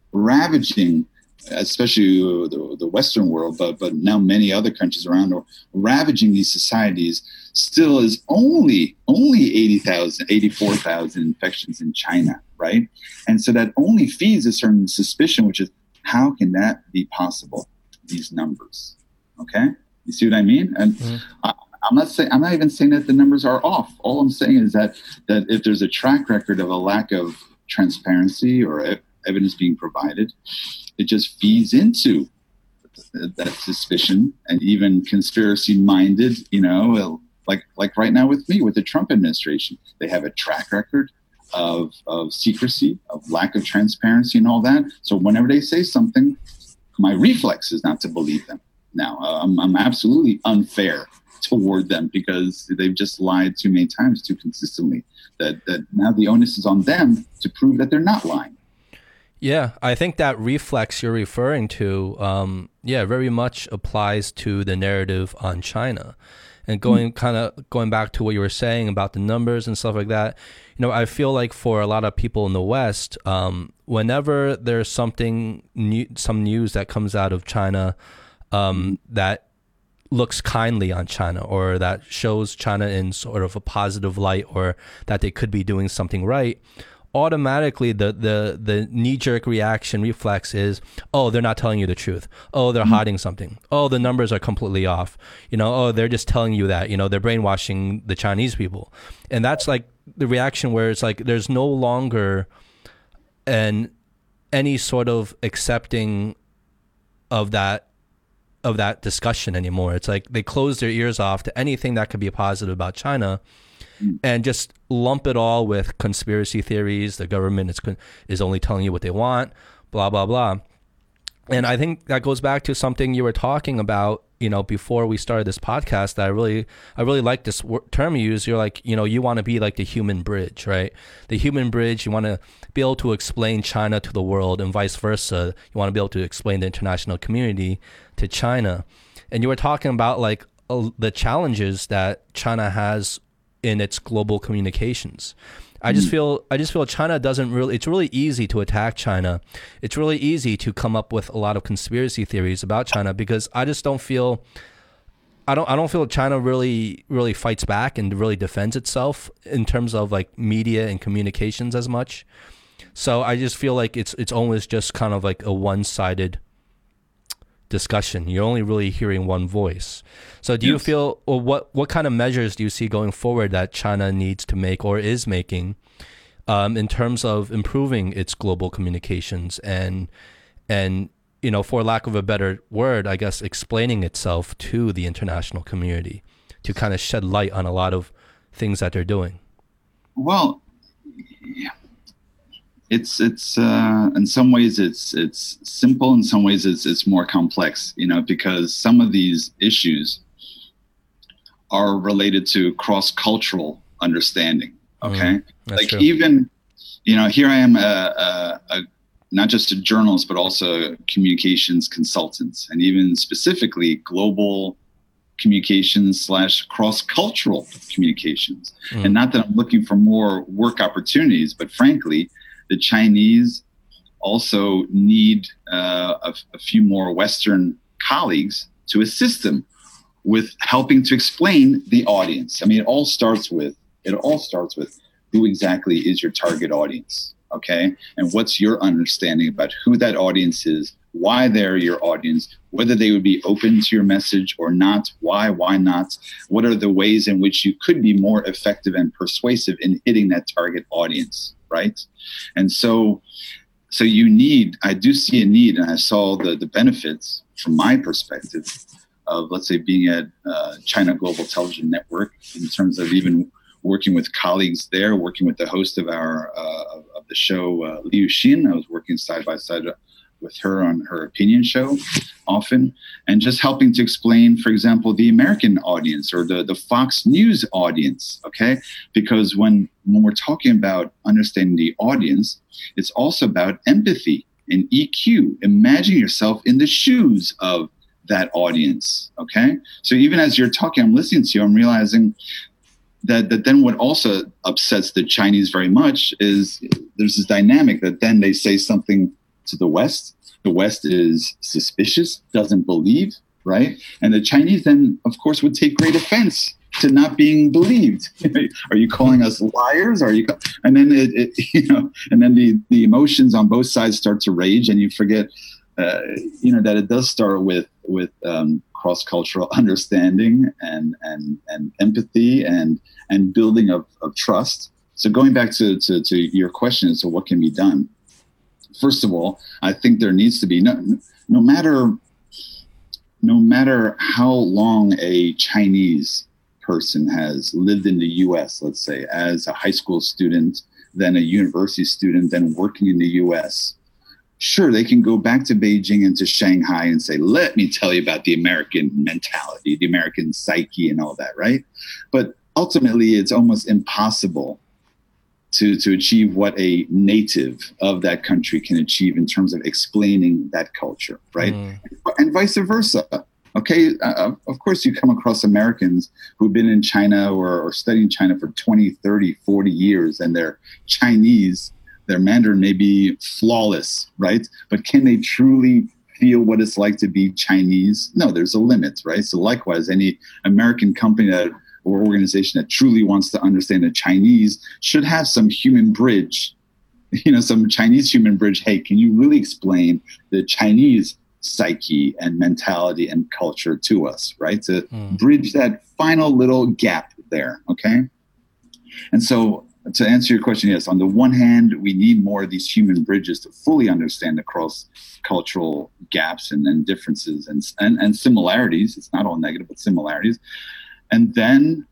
B: especially the Western world, but now many other countries around, are ravaging these societies, still is only 80,000, 84,000 infections in China, right? And so that only feeds a certain suspicion, which is, how can that be possible, these numbers? Okay? You see what I mean? And I'm not even saying that the numbers are off. All I'm saying is that if there's a track record of a lack of transparency or evidence being provided, it just feeds into that suspicion, and even conspiracy-minded, like right now with me, with the Trump administration. They have a track record of secrecy, of lack of transparency and all that. So whenever they say something, my reflex is not to believe them. Now, I'm absolutely unfair toward them because they've just lied too many times, too consistently, that now the onus is on them to prove that they're not lying.
A: Yeah, I think that reflex you're referring to, very much applies to the narrative on China. And going back to what you were saying about the numbers and stuff like that, I feel like for a lot of people in the West, whenever there's something new, some news that comes out of China that looks kindly on China, or that shows China in sort of a positive light, or that they could be doing something right, automatically the knee-jerk reaction reflex is, oh, they're not telling you the truth. Oh, they're hiding something. Oh, the numbers are completely off. Oh, they're just telling you that. They're brainwashing the Chinese people. And that's like the reaction where it's like there's no longer any sort of accepting of that discussion anymore. It's like they close their ears off to anything that could be positive about China, and just lump it all with conspiracy theories. The government is only telling you what they want, blah, blah, blah. And I think that goes back to something you were talking about, before we started this podcast, that I really like this term you use. You're like, you want to be like the human bridge, right? The human bridge, you want to be able to explain China to the world, and vice versa. You want to be able to explain the international community to China. And you were talking about like the challenges that China has in its global communications. I just feel China doesn't really, it's really easy to attack China. It's really easy to come up with a lot of conspiracy theories about China, because I just don't feel, I don't feel China really fights back and really defends itself in terms of like media and communications as much. So I just feel like it's always just kind of like a one-sided discussion. You're only really hearing one voice. So do you feel, or what kind of measures do you see going forward that China needs to make or is making in terms of improving its global communications and for lack of a better word, I guess, explaining itself to the international community to kind of shed light on a lot of things that they're doing? Well,
B: it's in some ways it's simple, in some ways it's more complex, because some of these issues are related to cross-cultural understanding. Okay, like true. Even here I am not just a journalist but also a communications consultant, and even specifically global communications / cross-cultural communications. And not that I'm looking for more work opportunities, but frankly, the Chinese also need a few more Western colleagues to assist them with helping to explain the audience. I mean, it all starts with who exactly is your target audience, okay? And what's your understanding about who that audience is, why they're your audience, whether they would be open to your message or not, why not, what are the ways in which you could be more effective and persuasive in hitting that target audience, right? And so I do see a need, and I saw the benefits from my perspective of, let's say, being at China Global Television Network, in terms of even working with colleagues there, working with the host of of the show, Liu Xin. I was working side by side with her on her opinion show often, and just helping to explain, for example, the American audience or the Fox News audience, okay? Because when we're talking about understanding the audience, it's also about empathy and EQ. Imagine yourself in the shoes of that audience, okay? So even as you're talking, I'm listening to you, I'm realizing that then what also upsets the Chinese very much is there's this dynamic that then they say something to the West. The West is suspicious, doesn't believe, right? And the Chinese then, of course, would take great offense to not being believed. Are you calling us liars? And then and then the emotions on both sides start to rage, and you forget, that it does start with cross-cultural understanding and empathy and building of trust. So going back to your question, so what can be done? First of all, I think there needs to be no matter how long a Chinese person has lived in the U.S., let's say, as a high school student, then a university student, then working in the U.S., sure, they can go back to Beijing and to Shanghai and say, let me tell you about the American mentality, the American psyche and all that, right? But ultimately, it's almost impossible to achieve what a native of that country can achieve in terms of explaining that culture, right? And vice versa. Okay, of course, you come across Americans who've been in China or studying China for 20, 30, 40 years, and they're Chinese. Their Mandarin may be flawless, right? But can they truly feel what it's like to be Chinese? No, there's a limit, right? So likewise, any American company or organization that truly wants to understand the Chinese should have some human bridge, some Chinese human bridge. Hey, can you really explain the Chinese psyche and mentality and culture to us, right? To bridge that final little gap there, okay? And so to answer your question, yes, on the one hand, we need more of these human bridges to fully understand the cross-cultural gaps and differences and similarities. It's not all negative, but similarities. And then,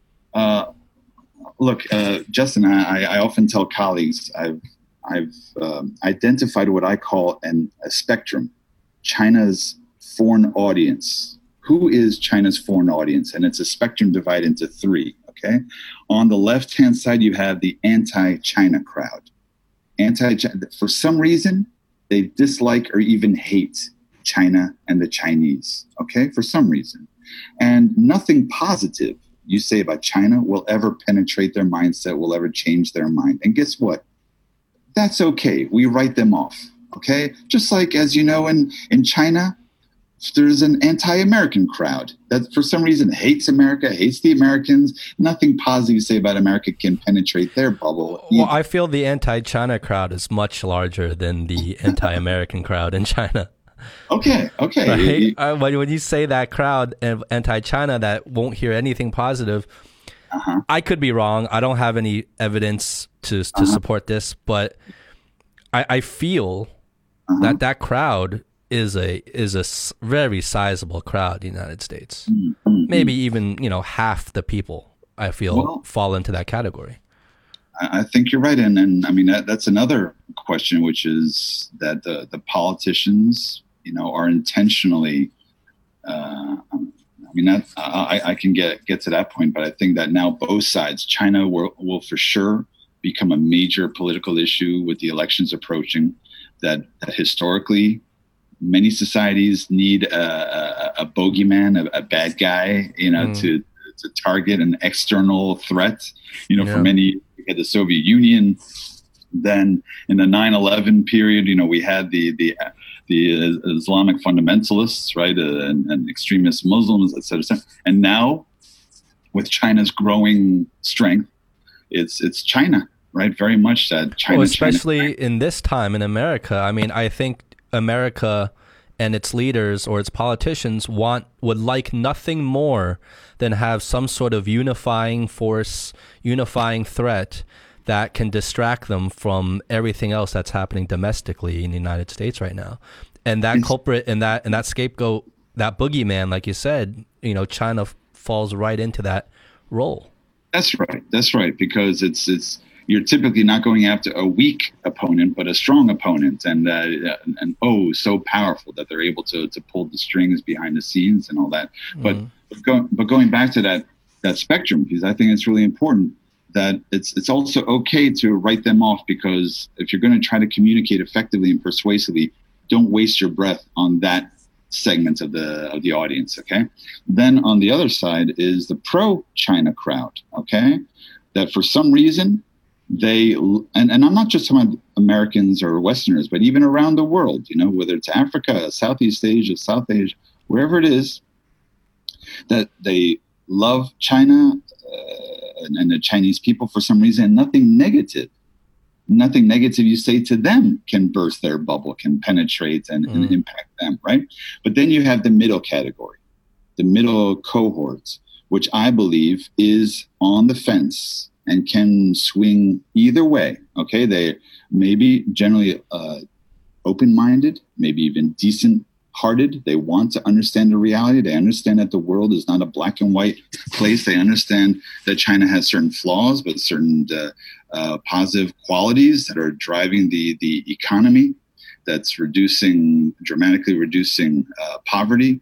B: look, Justin, I often tell colleagues, I've identified what I call a spectrum, China's foreign audience. Who is China's foreign audience? And it's a spectrum divided into three. Okay. On the left-hand side, you have the anti-China crowd. For some reason, they dislike or even hate China and the Chinese. Okay, for some reason, and nothing positive you say about China will ever penetrate their mindset, will ever change their mind. And guess what? That's okay. We write them off. Okay, just like as you know, in China, there's an anti-American crowd that for some reason hates America, hates the Americans. Nothing positive you say about America can penetrate their bubble.
A: Well, I feel the anti-China crowd is much larger than the anti-American crowd in China.
B: Okay.
A: Right? When you say that crowd of anti-China that won't hear anything positive, I could be wrong. I don't have any evidence to support this, but I feel that crowd is a very sizable crowd in the United States. Maybe even half the people I feel fall into that category.
B: I think you're right, and I mean that's another question, which is that the politicians are intentionally. I can get to that point, but I think that now both sides, China will for sure become a major political issue with the elections approaching. That historically, many societies need a bogeyman, a bad guy, to target an external threat. For many, the Soviet Union, Then in the 9/11 period, we had the Islamic fundamentalists, right, and extremist Muslims, et cetera, et cetera. And now, with China's growing strength, it's China, right? Very much that China.
A: Well, especially in this time in America. I mean, I think America and its leaders or its politicians would like nothing more than have some sort of unifying force, unifying threat that can distract them from everything else that's happening domestically in the United States right now. And that culprit and that scapegoat, that boogeyman, like you said, China falls right into that role.
B: That's right. Because it's you're typically not going after a weak opponent, but a strong opponent, and so powerful that they're able to pull the strings behind the scenes and all that. Mm. But going back to that spectrum, because I think it's really important that it's also okay to write them off, because if you're going to try to communicate effectively and persuasively, don't waste your breath on that segment of the audience. Okay. Then on the other side is the pro-China crowd. Okay, that for some reason and I'm not just talking about Americans or Westerners, but even around the world, whether it's Africa, Southeast Asia, South Asia, wherever it is, that they love China and the Chinese people for some reason. Nothing negative you say to them can burst their bubble, can penetrate and impact them, right? But then you have the middle category, the middle cohorts, which I believe is on the fence and can swing either way. Okay, they may be generally open-minded, maybe even decent-hearted. They want to understand the reality. They understand that the world is not a black and white place. They understand that China has certain flaws, but certain positive qualities that are driving the economy, that's dramatically reducing poverty.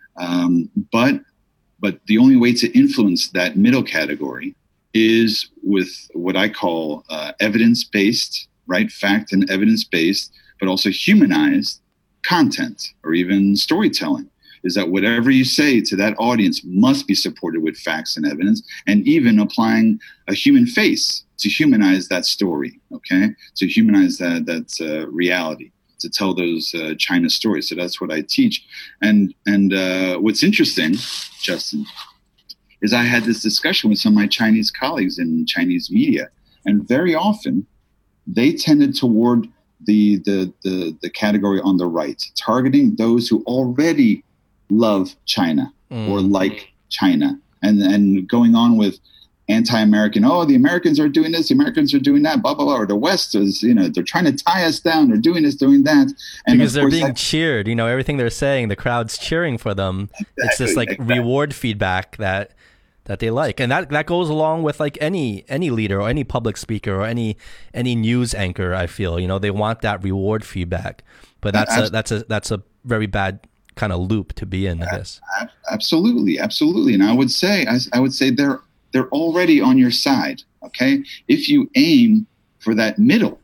B: But the only way to influence that middle category is with what I call evidence-based, right? Fact and evidence-based, but also humanized content or even storytelling. Is that whatever you say to that audience must be supported with facts and evidence, and even applying a human face to humanize that story, okay? To humanize that reality, to tell those China stories. So that's what I teach. And what's interesting, Justin, is I had this discussion with some of my Chinese colleagues in Chinese media, and very often they tended toward the category on the right, targeting those who already love China or like China, and going on with anti-American, the Americans are doing this, the Americans are doing that, blah, blah, blah, or the West is, they're trying to tie us down, they're doing this, doing that. And
A: because they're being cheered, everything they're saying, the crowd's cheering for them. Exactly, it's this reward feedback that they like. And that goes along with like any leader or any public speaker or any news anchor, I feel, they want that reward feedback. But that's a very bad kind of loop to be in, I guess.
B: Absolutely. And I would say they're already on your side. Okay. If you aim for that middle,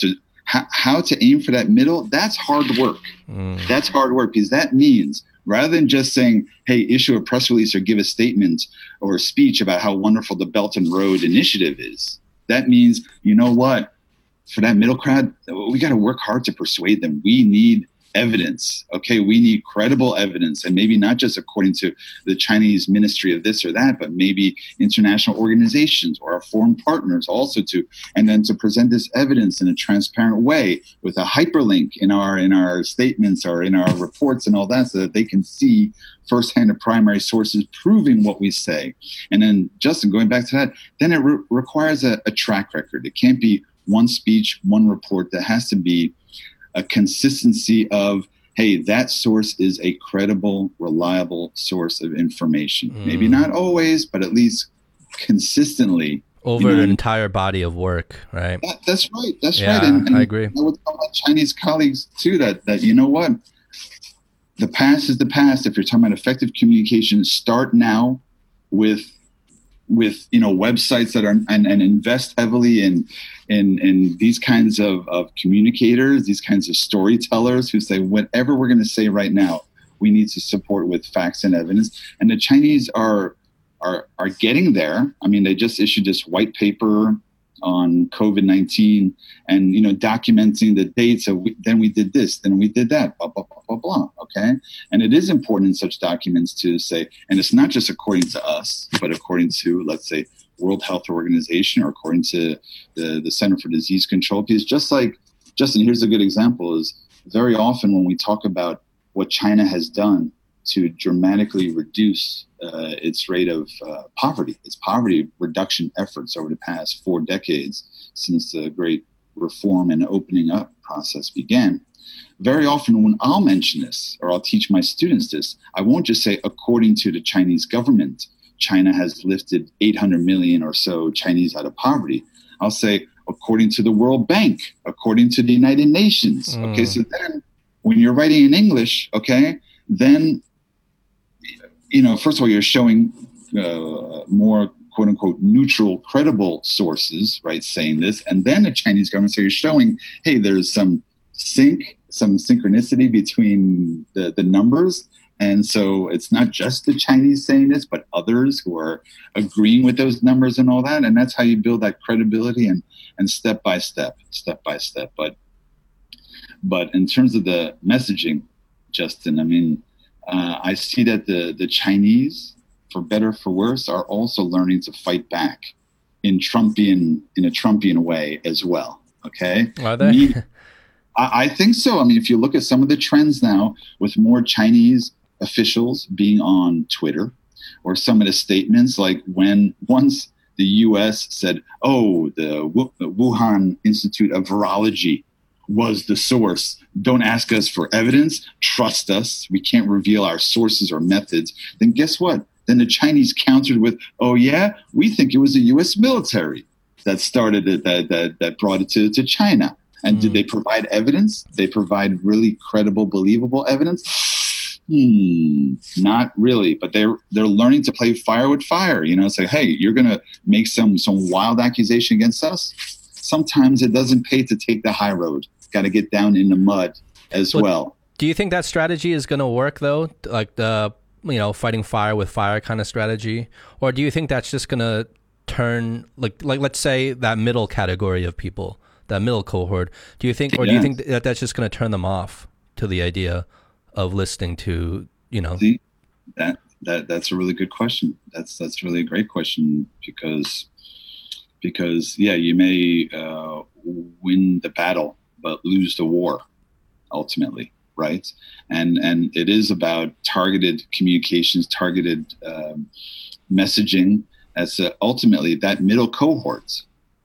B: how to aim for that middle, that's hard work. That's hard work, because that means rather than just saying, hey, issue a press release or give a statement or a speech about how wonderful the Belt and Road Initiative is, that means, what? For that middle crowd, we got to work hard to persuade them. We need evidence. Okay, we need credible evidence, and maybe not just according to the Chinese ministry of this or that, but maybe international organizations or our foreign partners also and then to present this evidence in a transparent way with a hyperlink in our statements or in our reports and all that, so that they can see firsthand the primary sources proving what we say. And then, Justin, going back to that, then it requires a track record. It can't be one speech, one report. There has to be a consistency of, hey, that source is a credible, reliable source of information. Maybe not always, but at least consistently.
A: Over an entire body of work, right?
B: That's right. And
A: I agree.
B: I would tell my Chinese colleagues, too, that what? The past is the past. If you're talking about effective communication, start now with websites that are and invest heavily in these kinds of communicators, these kinds of storytellers who say whatever we're going to say right now, we need to support with facts and evidence. And the Chinese are getting there. I mean, they just issued this white paper on COVID-19 and, documenting the dates of then we did this, then we did that, blah, blah, blah, blah, blah. Okay. And it is important in such documents to say, and it's not just according to us, but according to, let's say, World Health Organization or according to the Center for Disease Control. Because just like, Justin, here's a good example is very often when we talk about what China has done to dramatically reduce its rate of poverty, its poverty reduction efforts over the past 4 decades since the great reform and opening up process began. Very often when I'll mention this or I'll teach my students this, I won't just say according to the Chinese government, China has lifted 800 million or so Chinese out of poverty. I'll say according to the World Bank, according to the United Nations. Okay, so then when you're writing in English, okay, then first of all, you're showing more quote unquote neutral, credible sources, right, saying this. And then the Chinese government, so you're showing, hey, there's some synchronicity between the numbers. And so it's not just the Chinese saying this, but others who are agreeing with those numbers and all that. And that's how you build that credibility and step by step. But in terms of the messaging, Justin, I mean, I see that the Chinese, for better or for worse, are also learning to fight back in a Trumpian way as well. Okay,
A: are they?
B: I think so. I mean, if you look at some of the trends now, with more Chinese officials being on Twitter, or some of the statements, like when once the U.S. said, "Oh, the Wuhan Institute of Virology was the source. Don't ask us for evidence. Trust us. We can't reveal our sources or methods." Then guess what? Then the Chinese countered with, "Oh yeah, we think it was the U.S. military that started it, that brought it to China." And did they provide evidence? They provide really credible, believable evidence? Not really. But they're learning to play fire with fire. Say, hey, you're gonna make some wild accusation against us. Sometimes it doesn't pay to take the high road. Got to get down in the mud as well.
A: Do you think that strategy is going to work though? Like the, fighting fire with fire kind of strategy? Or do you think that's just going to turn like let's say that middle category of people, that middle cohort, do you think that that's just going to turn them off to the idea of listening to,
B: See, that's a really good question. That's really a great question because yeah, you may win the battle but lose the war ultimately, right? And it is about targeted communications, targeted messaging. As ultimately that middle cohort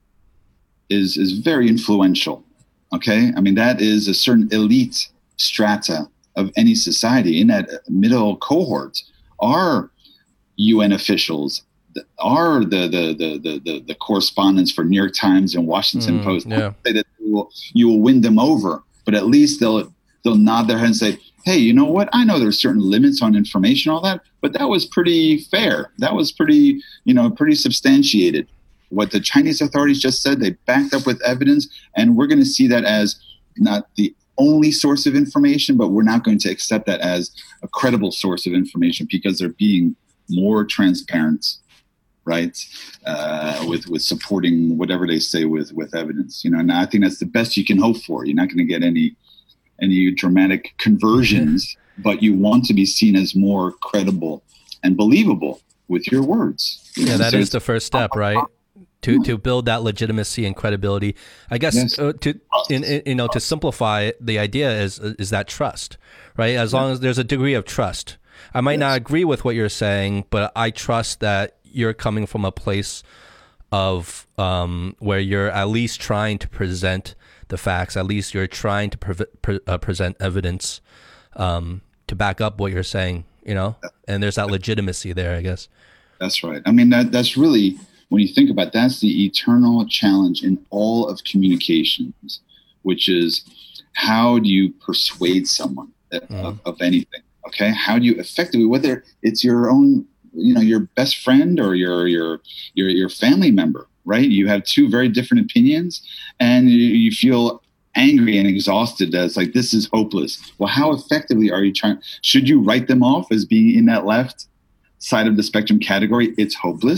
B: is very influential. Okay, I mean that is a certain elite strata of any society. In that middle cohort are UN officials, are the correspondents for New York Times and Washington Post.
A: Yeah.
B: Say that you will win them over, but at least they'll nod their head and say, hey, you know what? I know there's certain limits on information, all that, but that was pretty fair. That was pretty substantiated. What the Chinese authorities just said, they backed up with evidence, and we're going to see that as not the only source of information, but we're not going to accept that as a credible source of information because they're being more transparent, right? With supporting whatever they say with evidence, and I think that's the best you can hope for. You're not going to get any dramatic conversions, but you want to be seen as more credible and believable with your words.
A: Yeah, that is the first step, right? To build that legitimacy and credibility. I guess
B: Yes.
A: to simplify it, the idea is that trust, right? As long as there's a degree of trust. I might not agree with what you're saying, but I trust that you're coming from a place of where you're at least trying to present the facts. At least you're trying to present evidence to back up what you're saying, and there's that legitimacy there, I guess.
B: That's right. I mean, that's really, when you think about it, that's the eternal challenge in all of communications, which is how do you persuade someone of anything? Okay, how do you effectively, whether it's your own, your best friend or your family member, right? You have two very different opinions, and you feel angry and exhausted. That's like, this is hopeless. Well, how effectively are you trying? Should you write them off as being in that left side of the spectrum category? It's hopeless.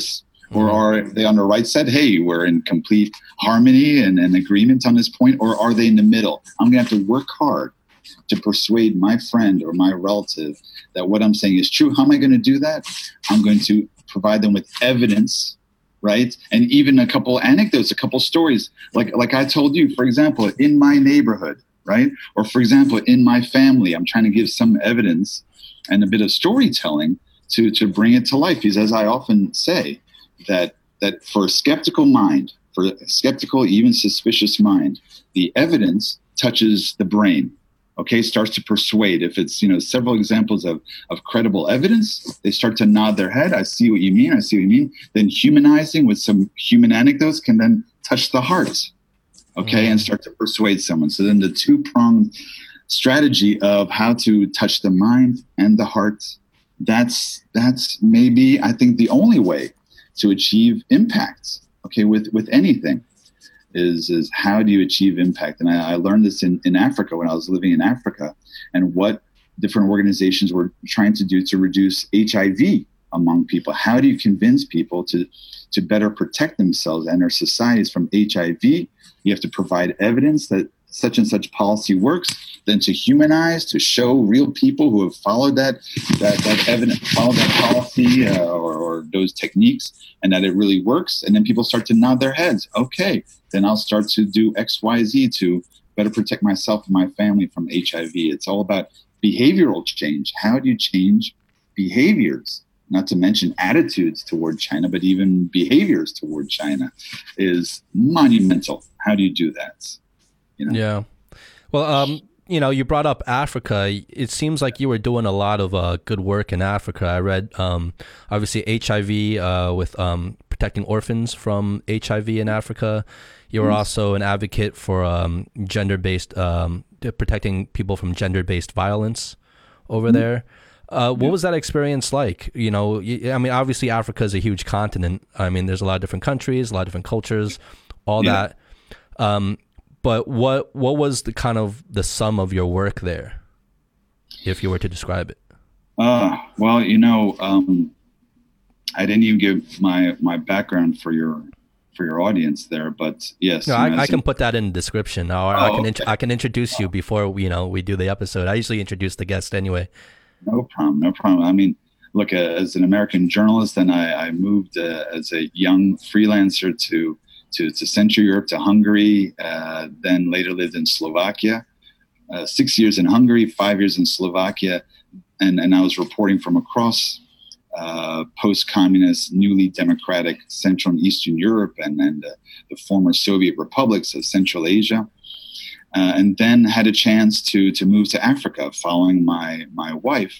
B: Or are they on the right side? Hey, we're in complete harmony and agreement on this point. Or are they in the middle? I'm going to have to work hard to persuade my friend or my relative that what I'm saying is true. How am I going to do that? I'm going to provide them with evidence, right? And even a couple anecdotes, a couple stories. Like I told you, for example, in my neighborhood, right? Or for example, in my family, I'm trying to give some evidence and a bit of storytelling to bring it to life. Because as I often say, that for a skeptical mind, for a skeptical, even suspicious mind, the evidence touches the brain. Okay, starts to persuade. If it's, several examples of credible evidence, they start to nod their head. I see what you mean. I see what you mean. Then humanizing with some human anecdotes can then touch the heart. Okay, and start to persuade someone. So then the two-pronged strategy of how to touch the mind and the heart, that's maybe, I think, the only way to achieve impact, okay, with anything. Is how do you achieve impact? And I learned this in Africa when I was living in Africa, and what different organizations were trying to do to reduce HIV among people. How do you convince people to better protect themselves and their societies from HIV? You have to provide evidence that such and such policy works, then to humanize, to show real people who have followed that evidence, followed that policy or those techniques, and that it really works. And then people start to nod their heads. Okay, then I'll start to do X, Y, Z to better protect myself and my family from HIV. It's all about behavioral change. How do you change behaviors? Not to mention attitudes toward China, but even behaviors toward China is monumental. How do you do that?
A: Yeah. Well, you brought up Africa. It seems like you were doing a lot of good work in Africa. I read, obviously, HIV with protecting orphans from HIV in Africa. You were also an advocate for gender-based, protecting people from gender-based violence over there. What was that experience like? I mean, obviously, Africa is a huge continent. I mean, there's a lot of different countries, a lot of different cultures, all that. But what was the kind of the sum of your work there, if you were to describe it?
B: Well, I didn't even give my background for your audience there, but yes.
A: No, I can put that in the description. I can introduce you before we do the episode. I usually introduce the guest anyway. No
B: problem. I mean, look, as an American journalist, and I moved as a young freelancer to Central Europe, to Hungary, then later lived in Slovakia, 6 years in Hungary, 5 years in Slovakia, and I was reporting from across post-communist, newly democratic Central and Eastern Europe and the former Soviet republics of Central Asia, and then had a chance to move to Africa following my wife,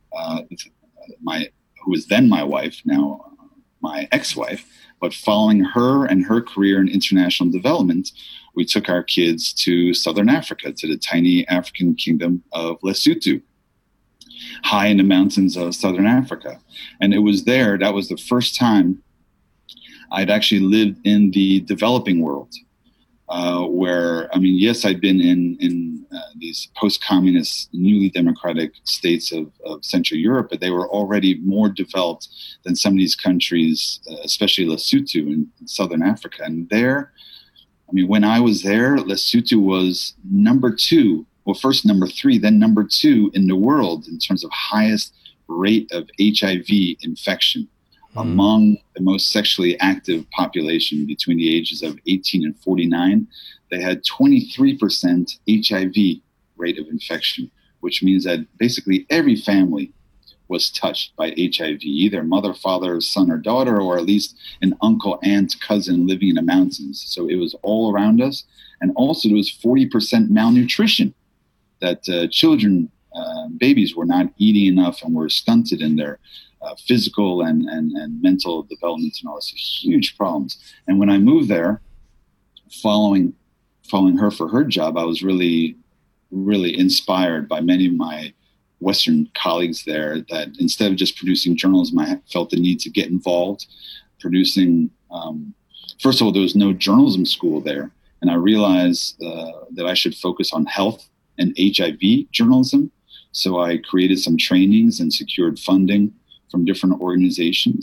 B: who was then my wife, now my ex-wife. But following her and her career in international development, we took our kids to Southern Africa, to the tiny African kingdom of Lesotho, high in the mountains of Southern Africa. And it was there, that was the first time I'd actually lived in the developing world, where, I mean, yes, I'd been in these post-communist, newly democratic states of Central Europe, but they were already more developed than some of these countries, especially Lesotho in Southern Africa. And there, I mean, when I was there, Lesotho was number 2, well, first number 3, then number 2 in the world in terms of highest rate of HIV infection among the most sexually active population between the ages of 18 and 49. They had 23% HIV rate of infection, which means that basically every family was touched by HIV, either mother, father, son, or daughter, or at least an uncle, aunt, cousin living in the mountains. So it was all around us. And also there was 40% malnutrition, that children, babies were not eating enough and were stunted in their physical and mental development and all this, huge problems. And when I moved there, following her for her job, I was really, really inspired by many of my Western colleagues there, that instead of just producing journalism, I felt the need to get involved producing. First of all, there was no journalism school there. And I realized that I should focus on health and HIV journalism. So I created some trainings and secured funding from different organizations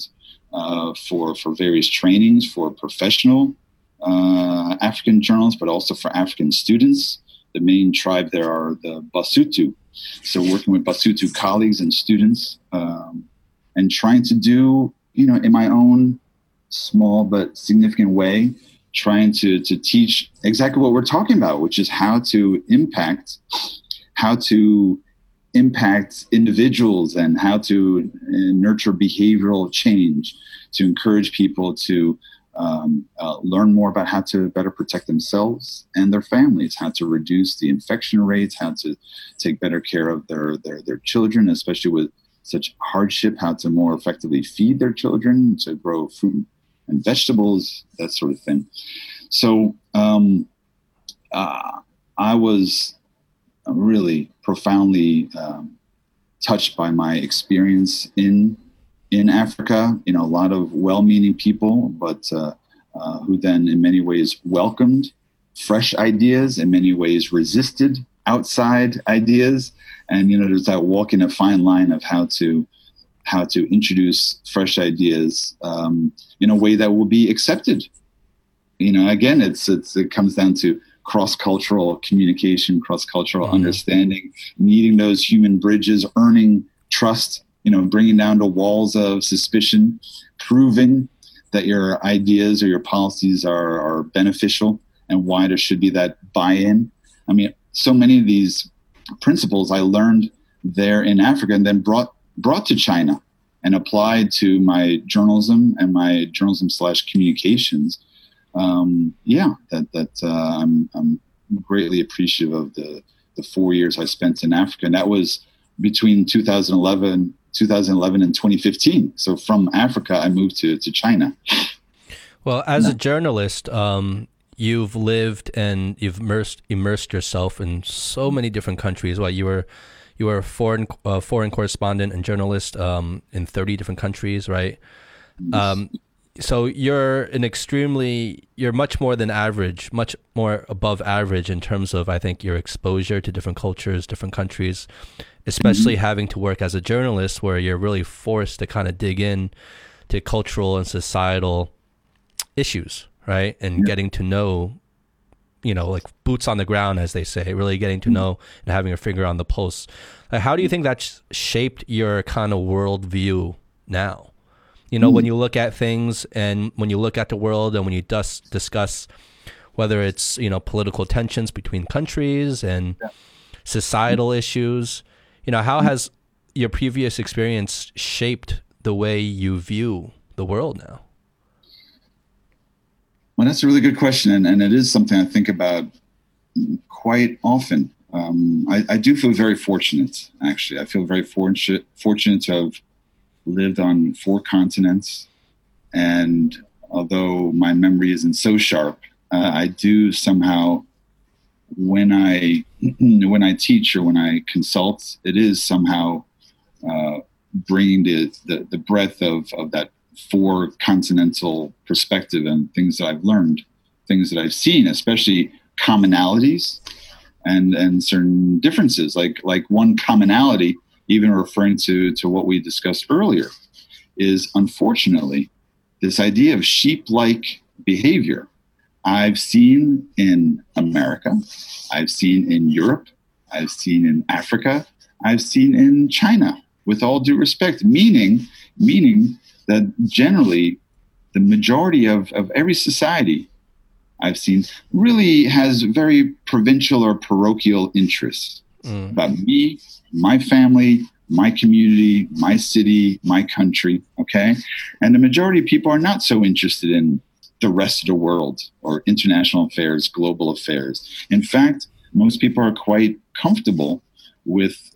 B: for various trainings for professional African journalists, but also for African students. The main tribe there are the Basutu. So working with Basutu colleagues and students, and trying to do, in my own small but significant way, trying to teach exactly what we're talking about, which is how to impact individuals and how to nurture behavioral change, to encourage people to learn more about how to better protect themselves and their families, how to reduce the infection rates, how to take better care of their children, especially with such hardship, how to more effectively feed their children, to grow fruit and vegetables, that sort of thing. So I was really profoundly touched by my experience in Africa. A lot of well-meaning people, but who then in many ways welcomed fresh ideas, in many ways resisted outside ideas. And, there's that walking a fine line of how to introduce fresh ideas in a way that will be accepted. Again, it comes down to cross-cultural communication, cross-cultural understanding, needing those human bridges, earning trust, bringing down the walls of suspicion, proving that your ideas or your policies are beneficial, and why there should be that buy-in. I mean, so many of these principles I learned there in Africa and then brought to China and applied to my journalism and my journalism/communications. I'm greatly appreciative of the 4 years I spent in Africa. And that was between 2011 and 2015. So from Africa, I moved to China.
A: Well, as a journalist, you've lived and you've immersed yourself in so many different countries. Well, you were a foreign correspondent and journalist in 30 different countries, right? So you're much more than average, much more above average in terms of, I think, your exposure to different cultures, different countries, especially having to work as a journalist where you're really forced to kind of dig in to cultural and societal issues, right? And getting to know, like boots on the ground, as they say, really getting to know and having a finger on the pulse. Like, how do you think that's shaped your kind of worldview now? When you look at things and when you look at the world and when you discuss whether it's, political tensions between countries and societal issues, how has your previous experience shaped the way you view the world now?
B: Well, that's a really good question. And it is something I think about quite often. I do feel very fortunate, actually. I feel very fortunate to have lived on 4 continents, and although my memory isn't so sharp, I do somehow, when I teach or when I consult, it is somehow bringing the breadth of that 4 continental perspective and things that I've learned, things that I've seen, especially commonalities and certain differences. Like one commonality, even referring to what we discussed earlier, is unfortunately this idea of sheep-like behavior. I've seen in America, I've seen in Europe, I've seen in Africa, I've seen in China, with all due respect, meaning that generally the majority of every society I've seen really has very provincial or parochial interests about me, my family, my community, my city, my country, okay? And the majority of people are not so interested in the rest of the world or international affairs, global affairs. In fact, most people are quite comfortable with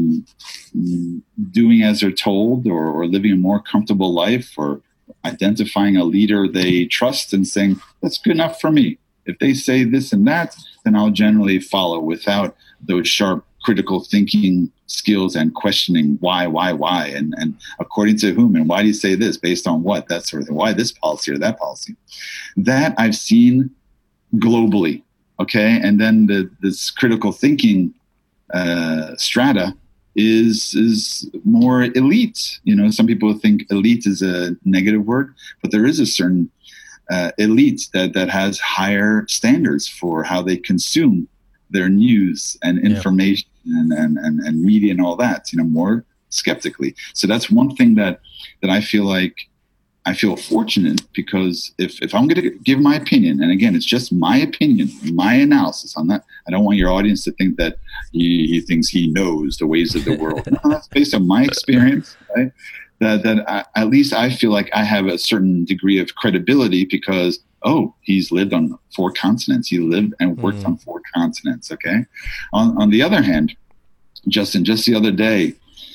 B: doing as they're told or living a more comfortable life or identifying a leader they trust and saying, that's good enough for me. If they say this and that, then I'll generally follow without those sharp critical thinking skills and questioning why, and according to whom, and why do you say this, based on what, that sort of thing, why this policy or that policy. That I've seen globally, okay? And then this critical thinking strata is more elite. Some people think elite is a negative word, but there is a certain elite that has higher standards for how they consume their news and information and media and all that, more skeptically. So that's one thing that I feel like I feel fortunate, because if I'm going to give my opinion, and again, it's just my opinion, my analysis on that. I don't want your audience to think that he thinks he knows the ways of the world. No, that's based on my experience, right? That at least I feel like I have a certain degree of credibility because, he's lived on 4 continents. He lived and worked on 4 continents. Okay. On the other hand, Justin, just the other day,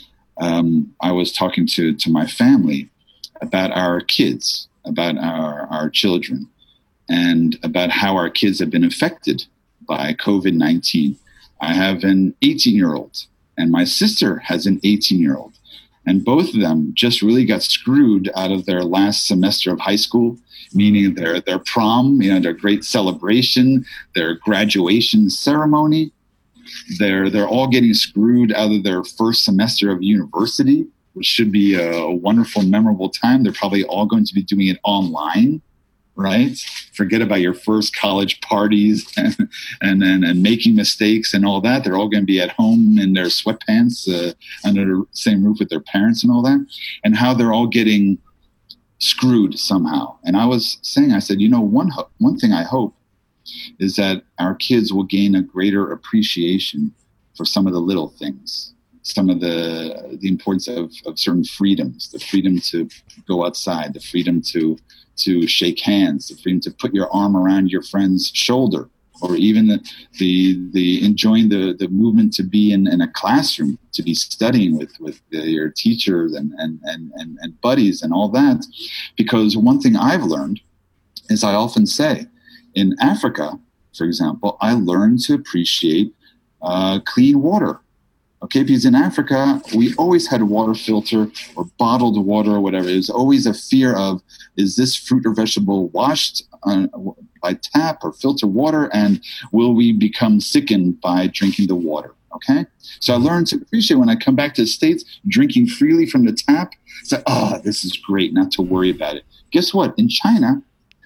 B: I was talking to my family about our kids, about our children, and about how our kids have been affected by COVID-19. I have an 18-year-old, and my sister has an 18-year-old. And both of them just really got screwed out of their last semester of high school, meaning their prom, their great celebration, their graduation ceremony. They're all getting screwed out of their first semester of university, which should be a wonderful, memorable time. They're probably all going to be doing it online, right? Forget about your first college parties and making mistakes and all that. They're all going to be at home in their sweatpants under the same roof with their parents and all that, and how they're all getting screwed somehow. And I was saying, I said, one thing I hope is that our kids will gain a greater appreciation for some of the little things, some of the importance of certain freedoms, the freedom to go outside, the freedom to shake hands, the freedom to put your arm around your friend's shoulder, or even the enjoying the movement to be in a classroom, to be studying with your teachers and buddies and all that. Because one thing I've learned is, I often say, in Africa, for example, I learned to appreciate clean water. Okay, because in Africa, we always had a water filter or bottled water or whatever. There's always a fear of, is this fruit or vegetable washed by tap or filter water, and will we become sickened by drinking the water? Okay, so I learned to appreciate, when I come back to the States, drinking freely from the tap. Say, this is great, not to worry about it. Guess what? In China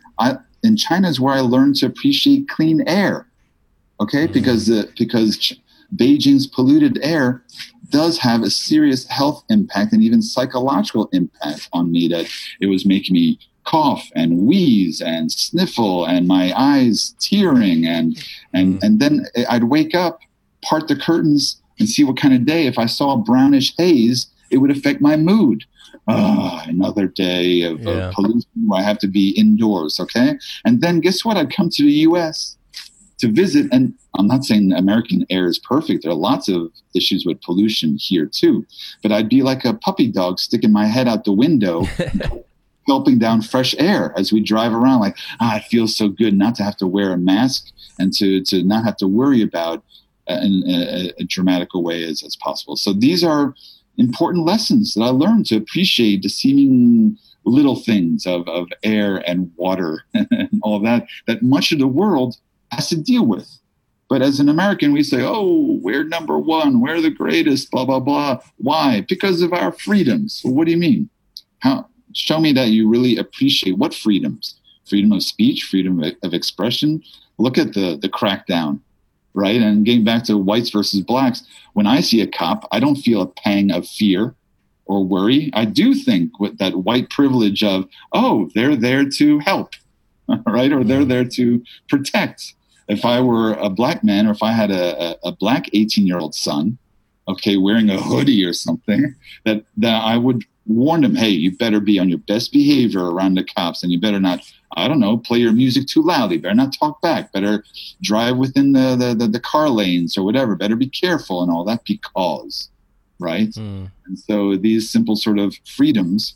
B: is where I learned to appreciate clean air. Okay, because Beijing's polluted air does have a serious health impact and even psychological impact on me, that it was making me cough and wheeze and sniffle and my eyes tearing and then I'd wake up, part the curtains and see what kind of day. If I saw a brownish haze, it would affect my mood. Another day of pollution where I have to be indoors. Okay. And then guess what? I'd come to the U.S. to visit, and I'm not saying American air is perfect. There are lots of issues with pollution here too, but I'd be like a puppy dog sticking my head out the window, gulping down fresh air as we drive around. Like, it feels so good not to have to wear a mask and to not have to worry about in a dramatical way as possible. So these are important lessons that I learned to appreciate the seeming little things of air and water and all that much of the world has to deal with. But as an American, we say, we're number one, we're the greatest, blah, blah, blah. Why? Because of our freedoms. Well, what do you mean? Show me that you really appreciate what freedoms? Freedom of speech, freedom of expression. Look at the crackdown, right? And getting back to whites versus blacks, when I see a cop, I don't feel a pang of fear or worry. I do think with that white privilege of, they're there to help, right? Or they're there to protect. If I were a black man, or if I had a black 18-year-old son, wearing a hoodie or something, that I would warn him, hey, you better be on your best behavior around the cops, and you better not, play your music too loudly, better not talk back, better drive within the car lanes or whatever, better be careful and all that, because, right? And so these simple sort of freedoms,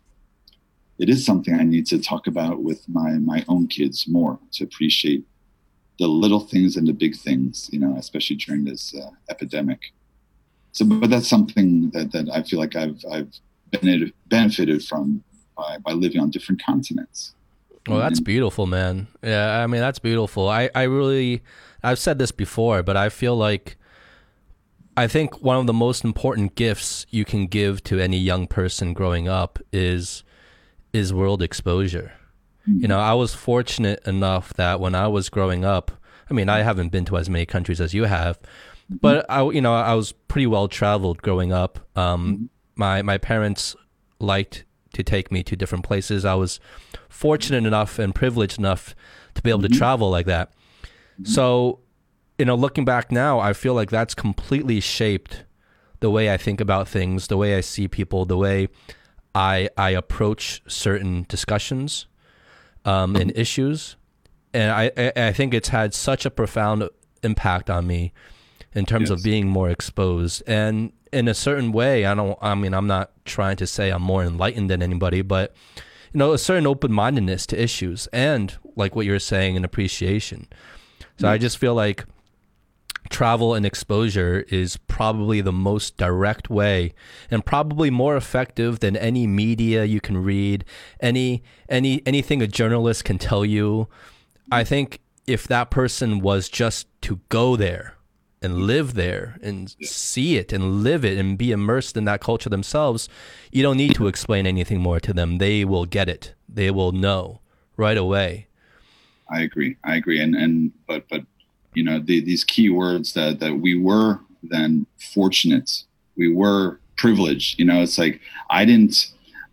B: it is something I need to talk about with my own kids more, to appreciate the little things and the big things, especially during this epidemic. So, but that's something that I feel like I've benefited from by living on different continents.
A: Well, that's beautiful, man. Yeah, I mean, that's beautiful. I've said this before, but I feel like I think one of the most important gifts you can give to any young person growing up is world exposure. You know, I was fortunate enough that when I was growing up, I mean, I haven't been to as many countries as you have, but I was pretty well traveled growing up. My parents liked to take me to different places. I was fortunate enough and privileged enough to be able to travel like that. So, looking back now, I feel like that's completely shaped the way I think about things, the way I see people, the way I approach certain discussions and issues. And I think it's had such a profound impact on me in terms of being more exposed. And in a certain way, I'm not trying to say I'm more enlightened than anybody, but, a certain open-mindedness to issues and, like what you're saying, an appreciation. So I just feel like travel and exposure is probably the most direct way and probably more effective than any media you can read, anything a journalist can tell you. I think if that person was just to go there and live there and see it and live it and be immersed in that culture themselves, you don't need to explain anything more to them. They will get it. They will know right away.
B: I agree. But these key words that we were then fortunate, we were privileged. It's like I didn't,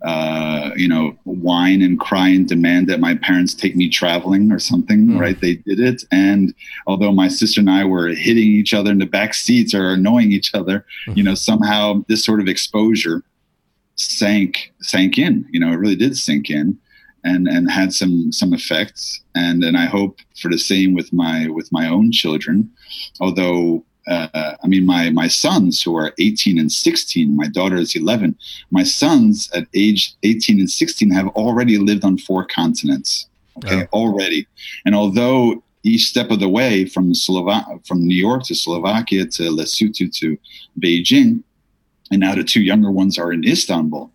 B: whine and cry and demand that my parents take me traveling or something, right? They did it. And although my sister and I were hitting each other in the back seats or annoying each other, somehow this sort of exposure sank in, it really did sink in and had some effects. And I hope for the same with my own children, although my sons who are 18 and 16, my daughter is 11. My sons at age 18 and 16 have already lived on 4 continents. Okay, already. And although each step of the way from New York to Slovakia to Lesotho to Beijing, and now the 2 younger ones are in Istanbul.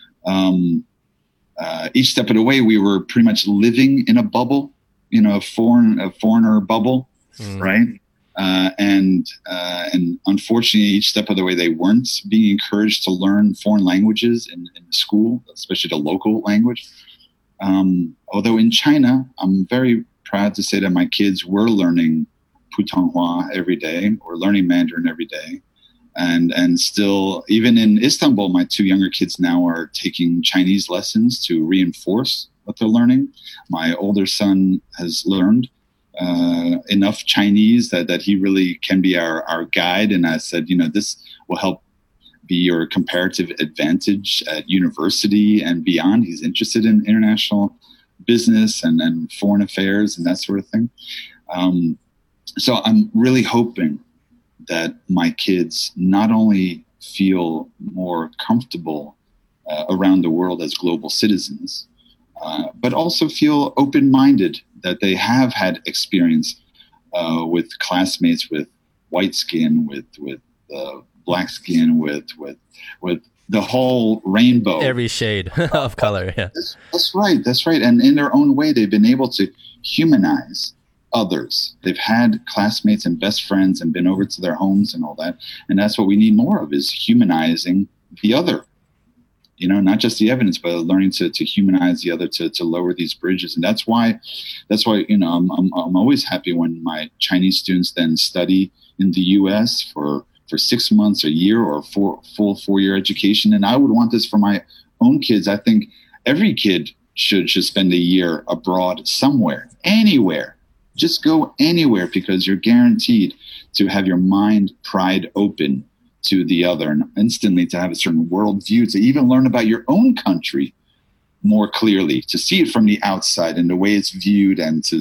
B: Each step of the way, we were pretty much living in a bubble, a foreigner bubble, right? And unfortunately, each step of the way, they weren't being encouraged to learn foreign languages in school, especially the local language. Although in China, I'm very proud to say that my kids were learning Putonghua every day or learning Mandarin every day. And still, even in Istanbul, my 2 younger kids now are taking Chinese lessons to reinforce what they're learning. My older son has learned enough Chinese that he really can be our guide. And I said, this will help be your comparative advantage at university and beyond. He's interested in international business and foreign affairs and that sort of thing. So I'm really hoping that my kids not only feel more comfortable around the world as global citizens, but also feel open-minded, that they have had experience with classmates with white skin, with black skin, with the whole rainbow.
A: Every shade of color, yeah.
B: That's right. And in their own way, they've been able to humanize others. They've had classmates and best friends and been over to their homes and all that. And that's what we need more of, is humanizing the other. Not just the evidence, but learning to humanize the other, to lower these bridges. And that's why, I'm always happy when my Chinese students then study in the U.S. for 6 months, a year, or full 4-year education. And I would want this for my own kids. I think every kid should spend a year abroad somewhere, anywhere. Just go anywhere, because you're guaranteed to have your mind pried open to the other and instantly to have a certain worldview, to even learn about your own country more clearly, to see it from the outside and the way it's viewed, and to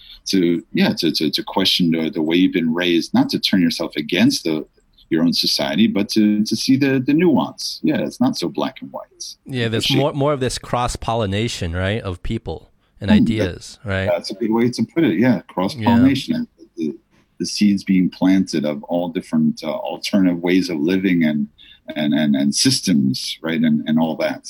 B: question the way you've been raised, not to turn yourself against your own society, but to see the nuance. Yeah, it's not so black and white.
A: Yeah, there's more of this cross-pollination, right, of people and ideas, right?
B: That's a good way to put it. Yeah, cross-pollination. Yeah. The seeds being planted of all different alternative ways of living and systems, right, and all that,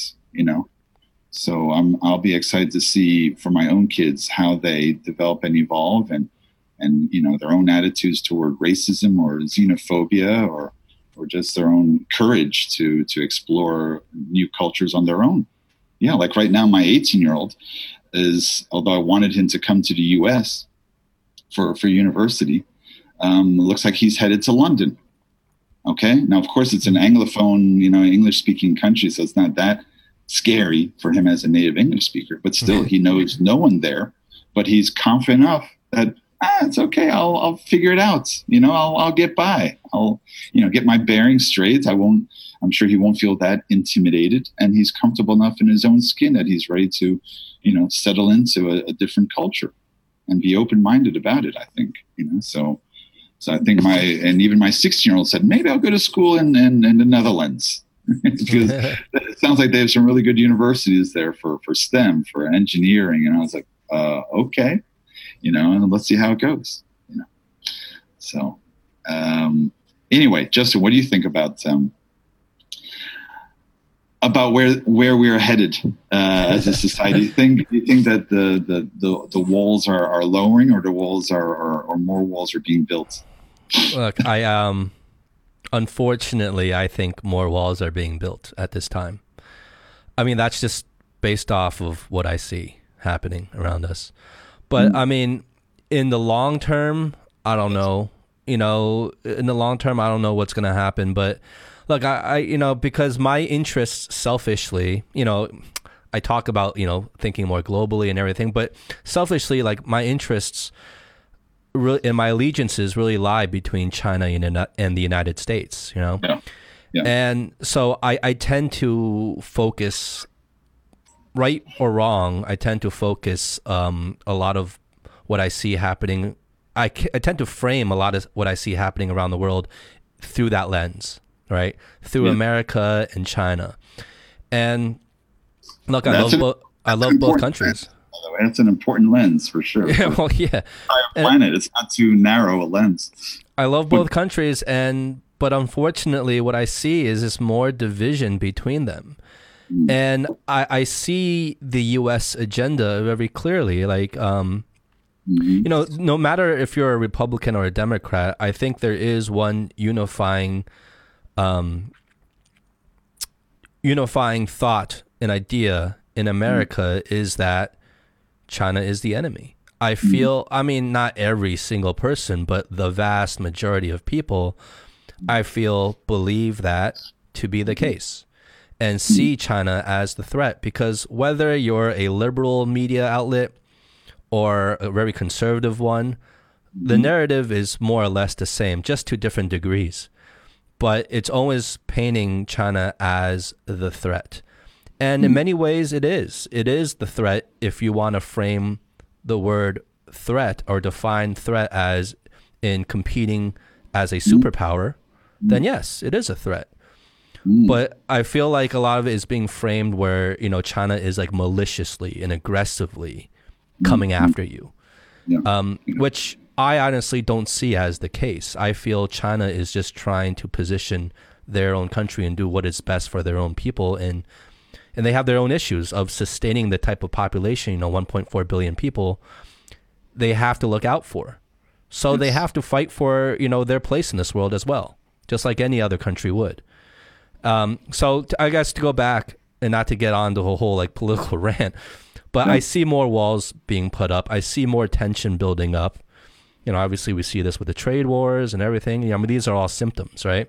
B: So I'll be excited to see for my own kids how they develop and evolve, and their own attitudes toward racism or xenophobia or or just their own courage to explore new cultures on their own. Yeah, like right now, my 18-year-old is, although I wanted him to come to the U.S. for university, looks like he's headed to London. Okay, now of course it's an Anglophone, English-speaking country, so it's not that scary for him as a native English speaker. But still, he knows no one there. But he's confident enough that it's okay. I'll figure it out. I'll get by. I'll get my bearings straight. I'm sure he won't feel that intimidated, and he's comfortable enough in his own skin that he's ready to, settle into a different culture and be open-minded about it. I think, so I think even my 16-year-old said, maybe I'll go to school in the Netherlands because it sounds like they have some really good universities there for STEM, for engineering. And I was like, okay, and let's see how it goes, So, anyway, Justin, what do you think about where we're headed as a society? Do you think that the walls are lowering, or the walls or more walls are being built?
A: Look, unfortunately, I think more walls are being built at this time. I mean, that's just based off of what I see happening around us. But I mean, in the long term, I don't know. In the long term, I don't know what's going to happen. But look, I because my interests selfishly, I talk about, thinking more globally and everything, but selfishly, like my interests really, and my allegiances really lie between China and the United States,
B: Yeah.
A: And so I tend to focus, right or wrong, I tend to focus a lot of what I see happening. I tend to frame a lot of what I see happening around the world through that lens, right? Through America and China. And look, I love both countries.
B: By the way, that's an important lens for sure.
A: Yeah, well, yeah.
B: Planet, it's not too narrow a lens.
A: I love both countries, but unfortunately, what I see is more division between them. And I see the U.S. agenda very clearly. Like, no matter if you're a Republican or a Democrat, I think there is one unifying thought and idea in America is that China is the enemy. I feel, I mean, not every single person, but the vast majority of people, I feel, believe that to be the case and see China as the threat. Because whether you're a liberal media outlet or a very conservative one, the narrative is more or less the same, just to different degrees. But it's always painting China as the threat. And in many ways, it is. It is the threat if you want to frame the word threat or define threat as in competing as a superpower, then yes, it is a threat. But I feel like a lot of it is being framed where, China is like maliciously and aggressively coming after you, which I honestly don't see as the case. I feel China is just trying to position their own country and do what is best for their own people. And they have their own issues of sustaining the type of population, 1.4 billion people they have to look out for. So they have to fight for, their place in this world as well, just like any other country would. I guess to go back and not to get on the whole like political rant, but I see more walls being put up. I see more tension building up. Obviously we see this with the trade wars and everything. I mean, these are all symptoms, right?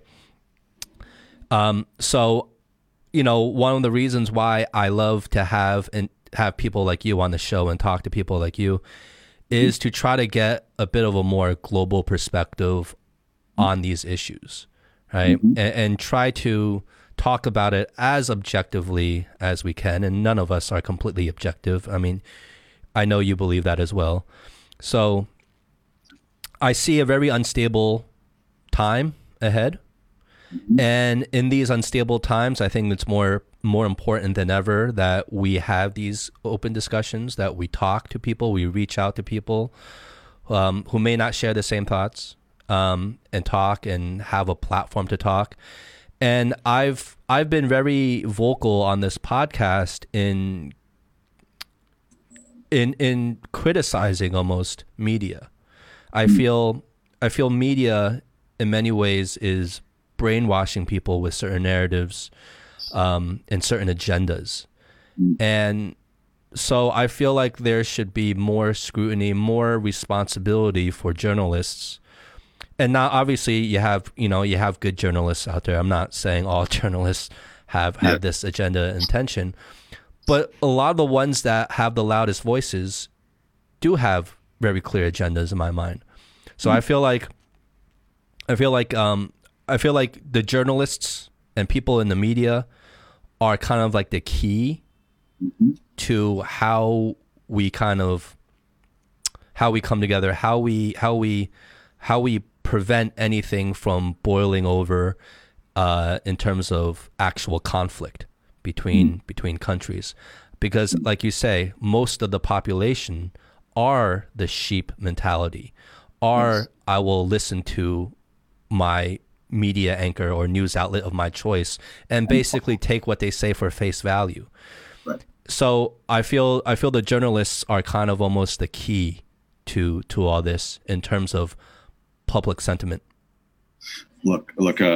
A: So, one of the reasons why I love to have people like you on the show and talk to people like you is to try to get a bit of a more global perspective on these issues, right? And try to talk about it as objectively as we can. And none of us are completely objective. I mean, I know you believe that as well. So I see a very unstable time ahead. And in these unstable times, I think it's more important than ever that we have these open discussions, that we talk to people, we reach out to people who may not share the same thoughts, and talk and have a platform to talk. And I've been very vocal on this podcast in criticizing almost media. I feel media in many ways is brainwashing people with certain narratives and certain agendas. And so I feel like there should be more scrutiny, more responsibility for journalists. And now, obviously, you have good journalists out there. I'm not saying all journalists have this agenda intention, but a lot of the ones that have the loudest voices do have very clear agendas in my mind. So I feel like the journalists and people in the media are kind of like the key to how we come together, how we prevent anything from boiling over in terms of actual conflict between countries. Because like you say, most of the population are the sheep mentality, I will listen to my media anchor or news outlet of my choice and basically take what they say for face value.
B: Right.
A: So I feel the journalists are kind of almost the key to all this in terms of public sentiment.
B: Look,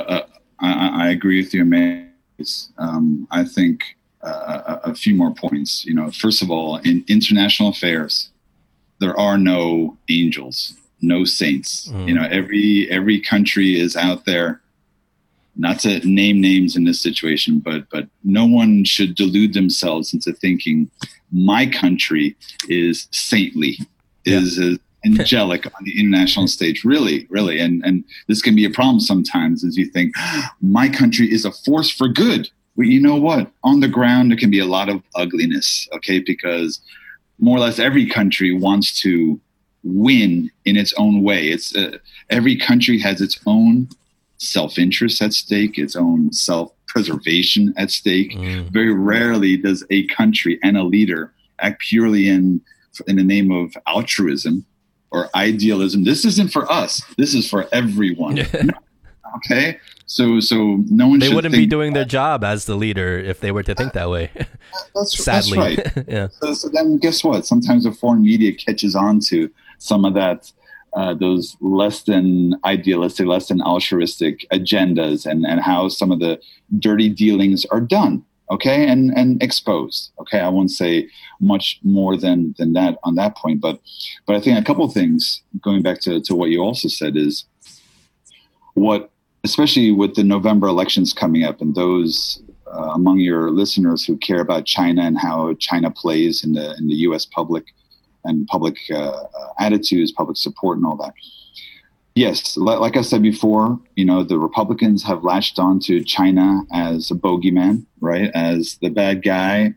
B: I agree with you, man. I think a few more points. First of all, in international affairs, there are no angels, no saints. Every country is out there. Not to name names in this situation, but no one should delude themselves into thinking my country is saintly, is angelic on the international stage. Really, really. And this can be a problem sometimes as you think, my country is a force for good. Well, you know what? On the ground, there can be a lot of ugliness, okay? Because more or less every country wants to win in its own way. It's every country has its own self-interest at stake, its own self-preservation at stake. Very rarely does a country and a leader act purely in the name of altruism or idealism. This isn't for us. This is for everyone. Okay? So no one
A: they wouldn't be doing their job as the leader if they were to think that way. Sadly.
B: That's right. So then guess what? Sometimes the foreign media catches on to some of that, those less than idealistic, less than altruistic agendas and how some of the dirty dealings are done, okay, and exposed. Okay, I won't say much more than that on that point, but I think a couple of things, going back to what you also said, is especially with the November elections coming up, and those among your listeners who care about China and how China plays in the U.S. public and public attitudes, public support, and all that. Yes, like I said before, the Republicans have latched on to China as a bogeyman, right? As the bad guy.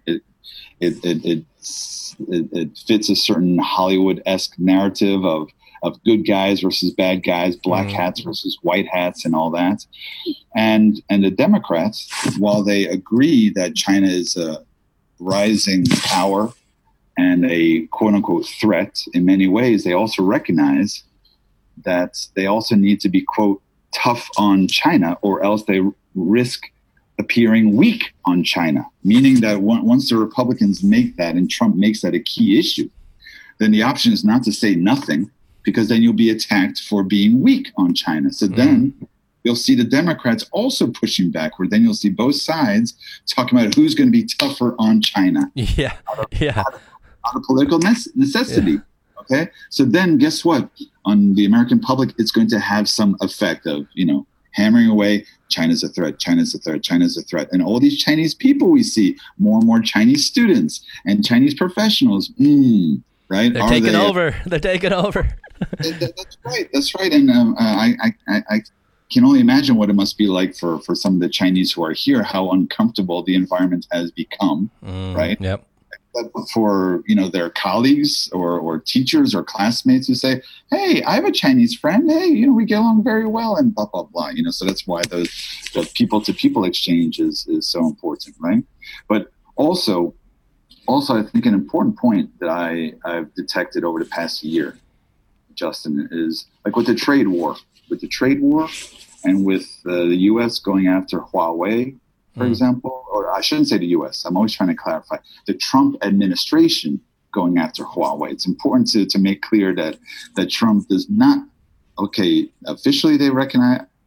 B: It fits a certain Hollywood-esque narrative of good guys versus bad guys, black hats versus white hats, and all that. And the Democrats, while they agree that China is a rising power and a quote-unquote threat in many ways, they also recognize that they also need to be, quote, tough on China, or else they risk appearing weak on China, meaning that once the Republicans make that and Trump makes that a key issue, then the option is not to say nothing, because then you'll be attacked for being weak on China. So then you'll see the Democrats also pushing backward. Then you'll see both sides talking about who's going to be tougher on China. Out of political necessity. Yeah. Okay. So then guess what? On the American public, it's going to have some effect of, hammering away, China's a threat, China's a threat, China's a threat. And all these Chinese people we see, more and more Chinese students and Chinese professionals, right?
A: They're taking over. They're taking over.
B: That's right. And I can only imagine what it must be like for some of the Chinese who are here, how uncomfortable the environment has become, right?
A: Yep.
B: For their colleagues or teachers or classmates who say, "Hey, I have a Chinese friend. Hey, we get along very well," and blah blah blah. So that's why the people to people exchange is so important, right? But also, I think an important point that I've detected over the past year, Justin, is like with the trade war, and with the U.S. going after Huawei, for example, or I shouldn't say the U.S. I'm always trying to clarify the Trump administration going after Huawei. It's important to make clear that Trump does not, officially they recognize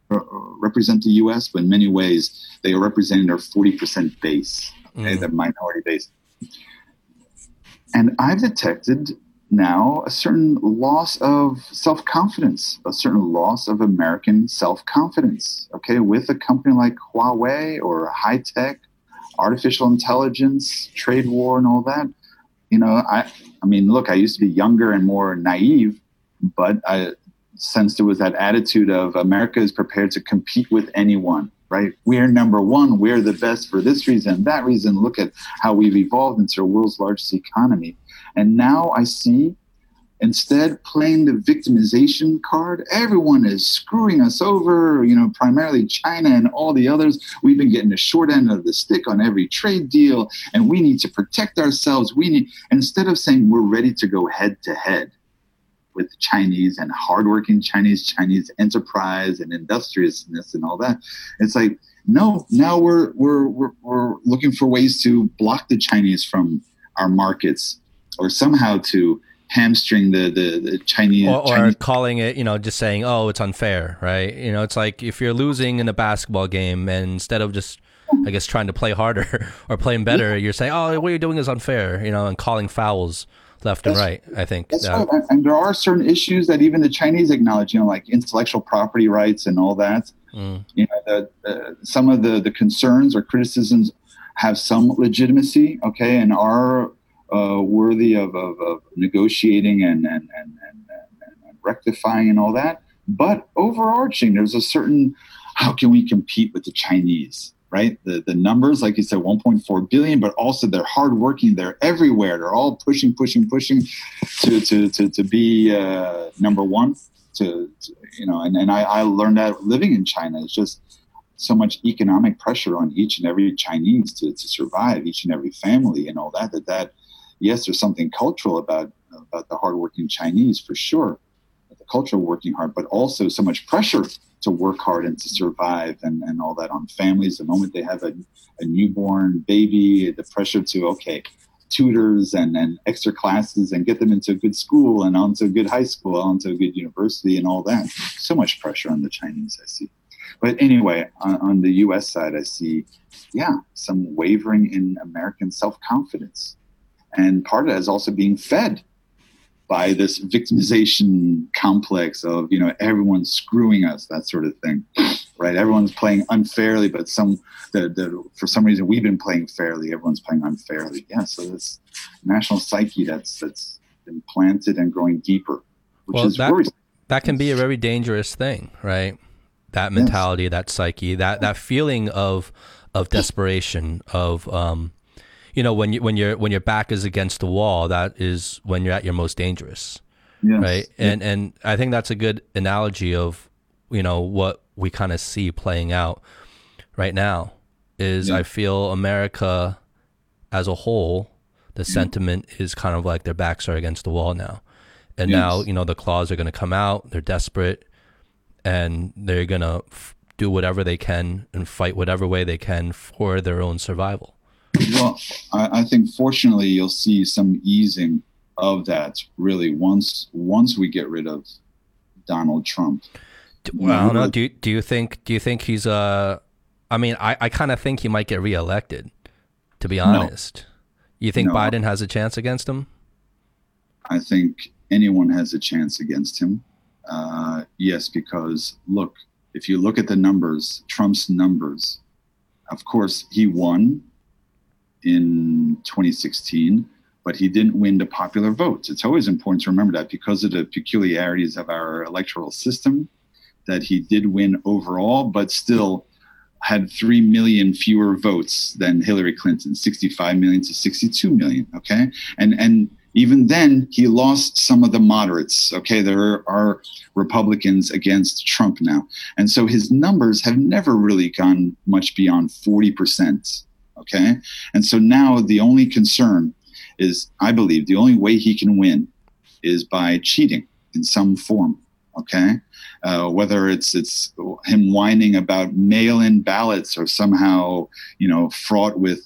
B: represent the U.S., but in many ways they are representing their 40% base, okay, the minority base. And I've detected now a certain loss of self-confidence, a certain loss of American self-confidence, okay, with a company like Huawei or high tech, artificial intelligence, trade war, and all that. I mean, look, I used to be younger and more naive, but I sensed there was that attitude of America is prepared to compete with anyone, right? We're number one. We're the best for this reason, that reason. Look at how we've evolved into the world's largest economy. And now I see, instead, playing the victimization card. Everyone is screwing us over, primarily China and all the others. We've been getting the short end of the stick on every trade deal, and we need to protect ourselves. Instead of saying we're ready to go head to head with Chinese and hardworking Chinese enterprise and industriousness and all that, it's like, no, now we're looking for ways to block the Chinese from our markets, or somehow to hamstring the Chinese.
A: Or calling it, just saying, oh, it's unfair, right? It's like if you're losing in a basketball game, and instead of just, I guess, trying to play harder or playing better, you're saying, oh, what you're doing is unfair, and calling fouls left and right, I think.
B: That's right. And there are certain issues that even the Chinese acknowledge, like intellectual property rights and all that. Some of the concerns or criticisms have some legitimacy, okay, and are worthy of negotiating and rectifying and all that. But overarching, there's a certain, how can we compete with the Chinese, right? The numbers, like you said, 1.4 billion, but also they're hardworking. They're everywhere. They're all pushing to be number one. And I learned that living in China. It's just so much economic pressure on each and every Chinese to survive, each and every family and all that. Yes, there's something cultural about the hardworking Chinese, for sure, the culture of working hard, but also so much pressure to work hard and to survive and all that on families. The moment they have a newborn baby, the pressure to, tutors and extra classes and get them into a good school and onto a good high school, onto a good university and all that. So much pressure on the Chinese, I see. But anyway, on the U.S. side, I see, some wavering in American self-confidence. And part of that is also being fed by this victimization complex of, everyone's screwing us, that sort of thing, right? Everyone's playing unfairly, but for some reason we've been playing fairly. Everyone's playing unfairly. Yeah, so this national psyche that's been planted and growing deeper, which is worrisome.
A: That can be a very dangerous thing, right? That mentality, yes. That psyche, that feeling of desperation, of when your back is against the wall, that is when you're at your most dangerous, yes. Right? And I think that's a good analogy of what we kind of see playing out right now. Is I feel America as a whole, the sentiment is kind of like their backs are against the wall now, and now the claws are going to come out. They're desperate, and they're going to do whatever they can and fight whatever way they can for their own survival.
B: Well, I think fortunately you'll see some easing of that really once we get rid of Donald Trump.
A: Well, no. Do you think he's I kind of think he might get reelected, to be honest. No. You think Biden has a chance against him?
B: I think anyone has a chance against him. Yes, because look, if you look at the numbers, Trump's numbers, of course he won in 2016, but he didn't win the popular vote. It's always important to remember that because of the peculiarities of our electoral system, that he did win overall, but still had 3 million fewer votes than Hillary Clinton, 65 million to 62 million, okay? And even then, he lost some of the moderates, okay? There are Republicans against Trump now. And so his numbers have never really gone much beyond 40%. Okay. And so now the only concern is, I believe, the only way he can win is by cheating in some form. Okay. Whether it's him whining about mail-in ballots or somehow, fraught with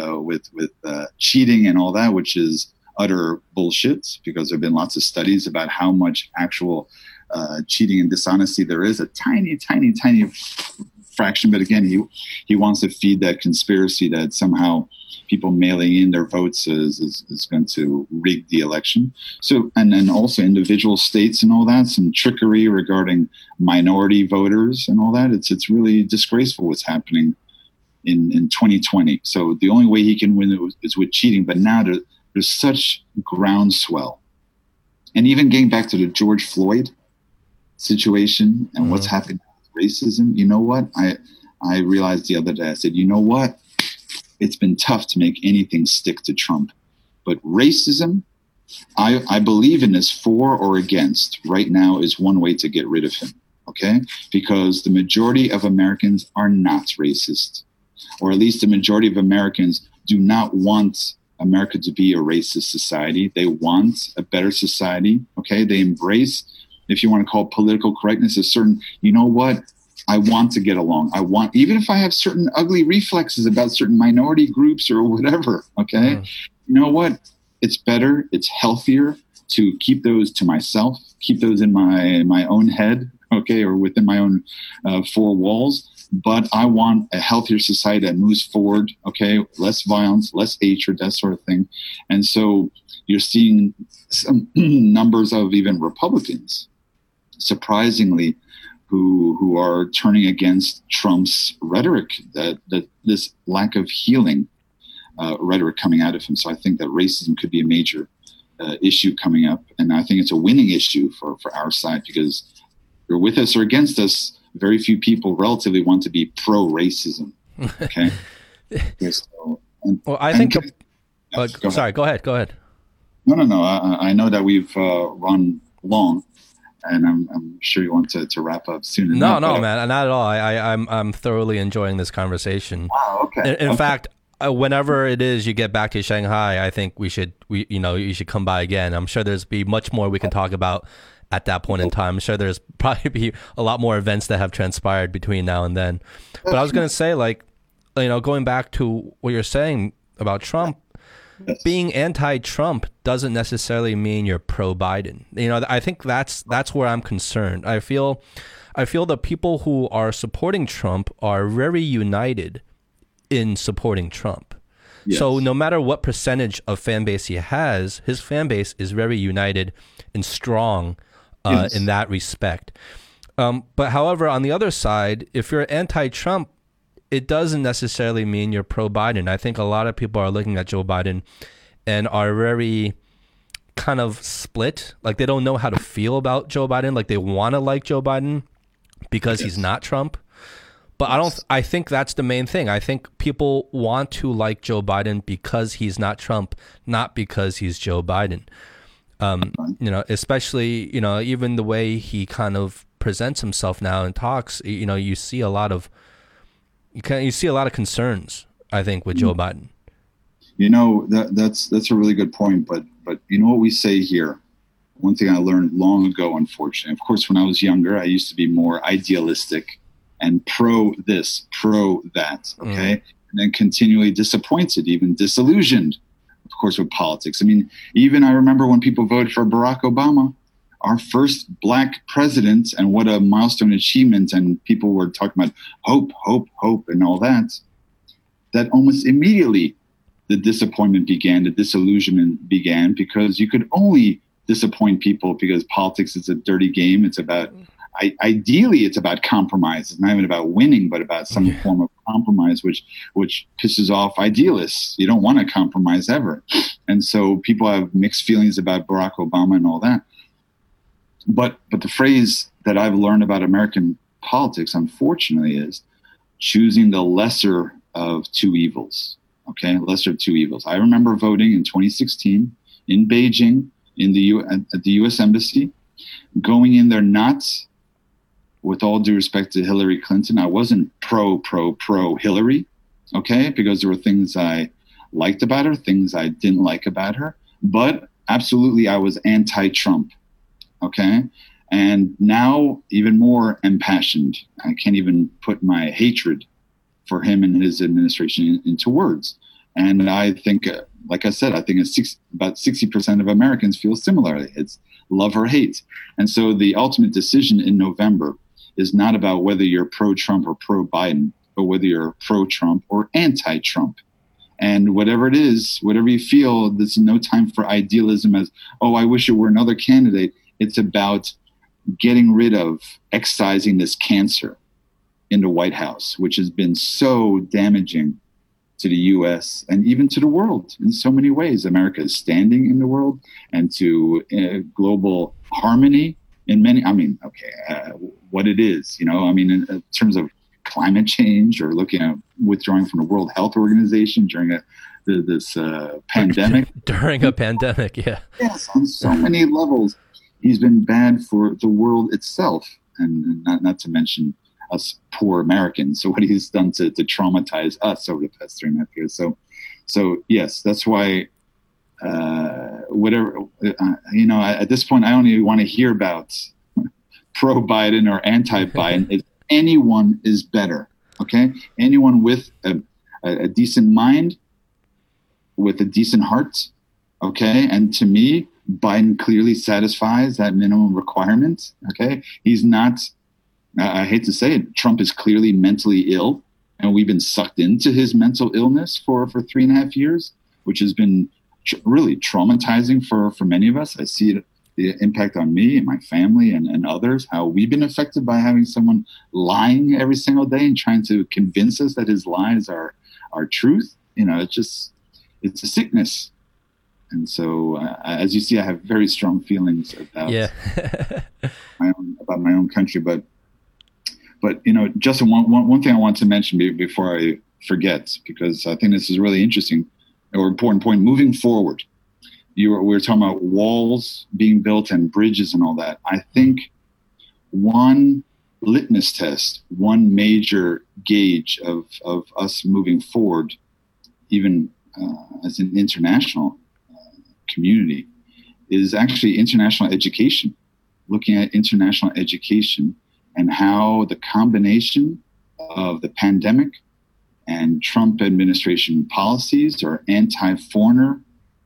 B: cheating and all that, which is utter bullshit, because there have been lots of studies about how much actual cheating and dishonesty. There is a tiny, tiny, tiny fraction, but again, he wants to feed that conspiracy that somehow people mailing in their votes is going to rig the election. So, and then also individual states and all that, some trickery regarding minority voters and all that. It's really disgraceful what's happening in 2020. So the only way he can win is with cheating. But now there's such groundswell. And even getting back to the George Floyd situation and what's happening with racism, you know what? I realized the other day, I said, you know what? It's been tough to make anything stick to Trump. But racism, I believe in this for or against right now is one way to get rid of him, okay? Because the majority of Americans are not racist, or at least the majority of Americans do not want America to be a racist society. They want a better society, okay? They embrace, if you want to call it political correctness, a certain, you know what? I want to get along. I want, even if I have certain ugly reflexes about certain minority groups or whatever, okay? You know what? It's better, it's healthier to keep those to myself, keep those in my own head, okay, or within my own four walls. But I want a healthier society that moves forward, okay? Less violence, less hatred, that sort of thing. And so you're seeing some numbers of even Republicans, surprisingly, who are turning against Trump's rhetoric, that this lack of healing rhetoric coming out of him. So I think that racism could be a major issue coming up. And I think it's a winning issue for our side, because you're with us or against us, very few people relatively want to be pro-racism. Okay. So,
A: well, I think. Sorry, go ahead.
B: No. I know that we've run long, and I'm sure you want to wrap up soon.
A: No, man, not at all. I'm thoroughly enjoying this conversation.
B: Wow. Okay.
A: In fact, whenever it is you get back to Shanghai, I think you should come by again. I'm sure there's be much more we can talk about at that point in time. I'm sure there's probably be a lot more events that have transpired between now and then. But I was going to say, going back to what you're saying about Trump, being anti-Trump doesn't necessarily mean you're pro-Biden. I think that's where I'm concerned. I feel the people who are supporting Trump are very united in supporting Trump. Yes. So no matter what percentage of fan base he has, his fan base is very united and strong in that respect. But however, on the other side, if you're anti-Trump, it doesn't necessarily mean you're pro-Biden. I think a lot of people are looking at Joe Biden and are very kind of split. Like they don't know how to feel about Joe Biden. Like they want to like Joe Biden because he's not Trump. But I think that's the main thing. I think people want to like Joe Biden because he's not Trump, not because he's Joe Biden. Especially, even the way he kind of presents himself now and talks, you see a lot of concerns, I think, with Joe Biden. That's a really good point. But you know what we say here? One thing I learned long ago, unfortunately, of course, when I was younger, I used to be more idealistic and pro this, pro that, okay? And then continually disappointed, even disillusioned, of course, with politics. I mean, even I remember when people voted for Barack Obama, our first black president, and what a milestone achievement, and people were talking about hope, and all that, that almost immediately the disappointment began, the disillusionment began, because you could only disappoint people because politics is a dirty game. It's about, ideally, it's about compromise. It's not even about winning, but about some form of compromise, which pisses off idealists. You don't want to compromise ever. And so people have mixed feelings about Barack Obama and all that. But the phrase that I've learned about American politics, unfortunately, is choosing the lesser of two evils. Okay, lesser of two evils. I remember voting in 2016 in Beijing at the U.S. Embassy, going in there not, with all due respect to Hillary Clinton, I wasn't pro Hillary, okay, because there were things I liked about her, things I didn't like about her, but absolutely I was anti-Trump. Okay. And now even more impassioned. I can't even put my hatred for him and his administration into words. And I think
B: like I said, I think about 60% of Americans feel similarly. It's love or hate. And so the ultimate decision in November is not about whether you're pro-Trump or pro-Biden, but whether you're pro-Trump or anti-Trump. And whatever it is, whatever you feel, there's no time for idealism as, oh, I wish it were another candidate. It's about getting rid of, excising this cancer in the White House, which has been so damaging to the U.S. and even to the world in so many ways. America is standing in the world and to global harmony in many, what it is, in terms of climate change or looking at withdrawing from the World Health Organization during this pandemic.
A: During a pandemic, yeah.
B: Yes, on so many levels. He's been bad for the world itself, and not to mention us poor Americans. So what he's done to traumatize us over the past 3.5 years. So yes, that's why at this point, I don't even want to hear about pro-Biden or anti-Biden. Anyone is better, okay? Anyone with a decent mind, with a decent heart, okay? And to me, Biden clearly satisfies that minimum requirement, okay? He's not, I hate to say it, Trump is clearly mentally ill, and we've been sucked into his mental illness for 3.5 years, which has been really traumatizing for many of us. I see it, the impact on me and my family and others, how we've been affected by having someone lying every single day and trying to convince us that his lies are truth. It's a sickness. And so, as you see, I have very strong feelings about my own country. But Justin, one thing I want to mention before I forget, because I think this is really interesting or important point moving forward. We were talking about walls being built and bridges and all that. I think one litmus test, one major gauge of us moving forward, even as an international community, is actually international education. Looking at international education and how the combination of the pandemic and Trump administration policies or anti-foreigner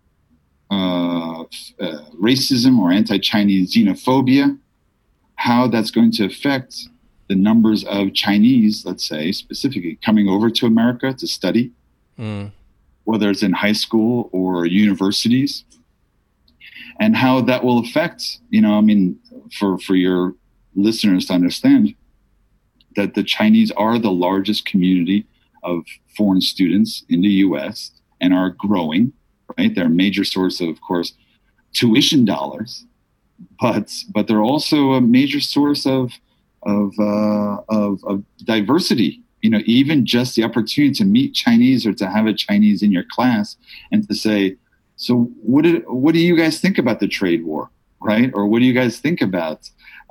B: racism or anti-Chinese xenophobia, how that's going to affect the numbers of Chinese, let's say, specifically coming over to America to study, whether it's in high school or universities, and how that will affect, for your listeners to understand that the Chinese are the largest community of foreign students in the U.S. and are growing, right? They're a major source of course, tuition dollars, but they're also a major source of diversity. Even just the opportunity to meet Chinese or to have a Chinese in your class and to say, so what do you guys think about the trade war, right? Or what do you guys think about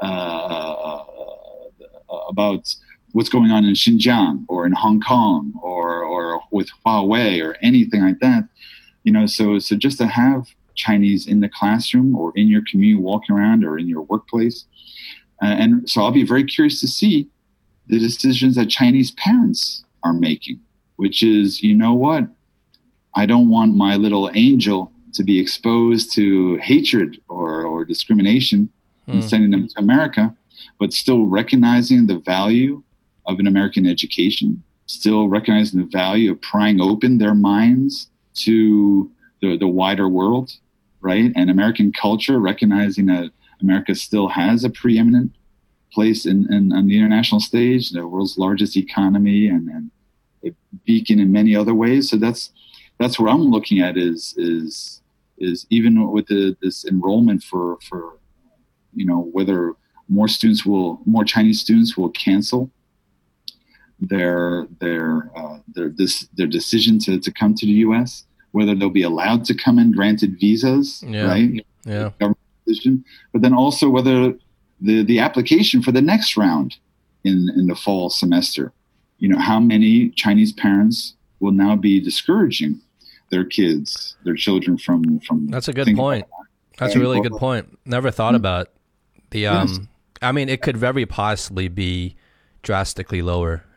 B: what's going on in Xinjiang or in Hong Kong or with Huawei or anything like that? So just to have Chinese in the classroom or in your community walking around or in your workplace. And so I'll be very curious to see the decisions that Chinese parents are making, which is, what? I don't want my little angel to be exposed to hatred or discrimination and sending them to America, but still recognizing the value of an American education, still recognizing the value of prying open their minds to the wider world, right? And American culture, recognizing that America still has a preeminent place on the international stage, the world's largest economy and a beacon in many other ways. So that's where I'm looking at is even with this enrollment for whether more Chinese students will cancel their decision to come to the U.S., whether they'll be allowed to come in granted visas, right?
A: Yeah.
B: Government decision, but then also whether the application for the next round in the fall semester, how many Chinese parents will now be discouraging their children from.
A: That's a good point. That's a really good point. Never thought about the. Yes. It could very possibly be drastically lower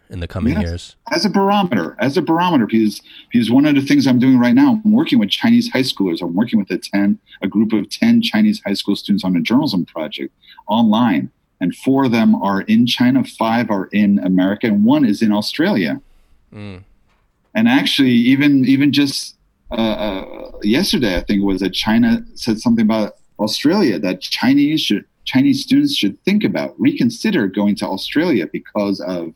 A: in the coming years?
B: As a barometer, because one of the things I'm doing right now, I'm working with Chinese high schoolers. I'm working with a group of 10 Chinese high school students on a journalism project online. And 4 of them are in China, 5 are in America, and 1 is in Australia. And actually, even just yesterday, I think it was that China said something about Australia, that Chinese students should think about, reconsider going to Australia because of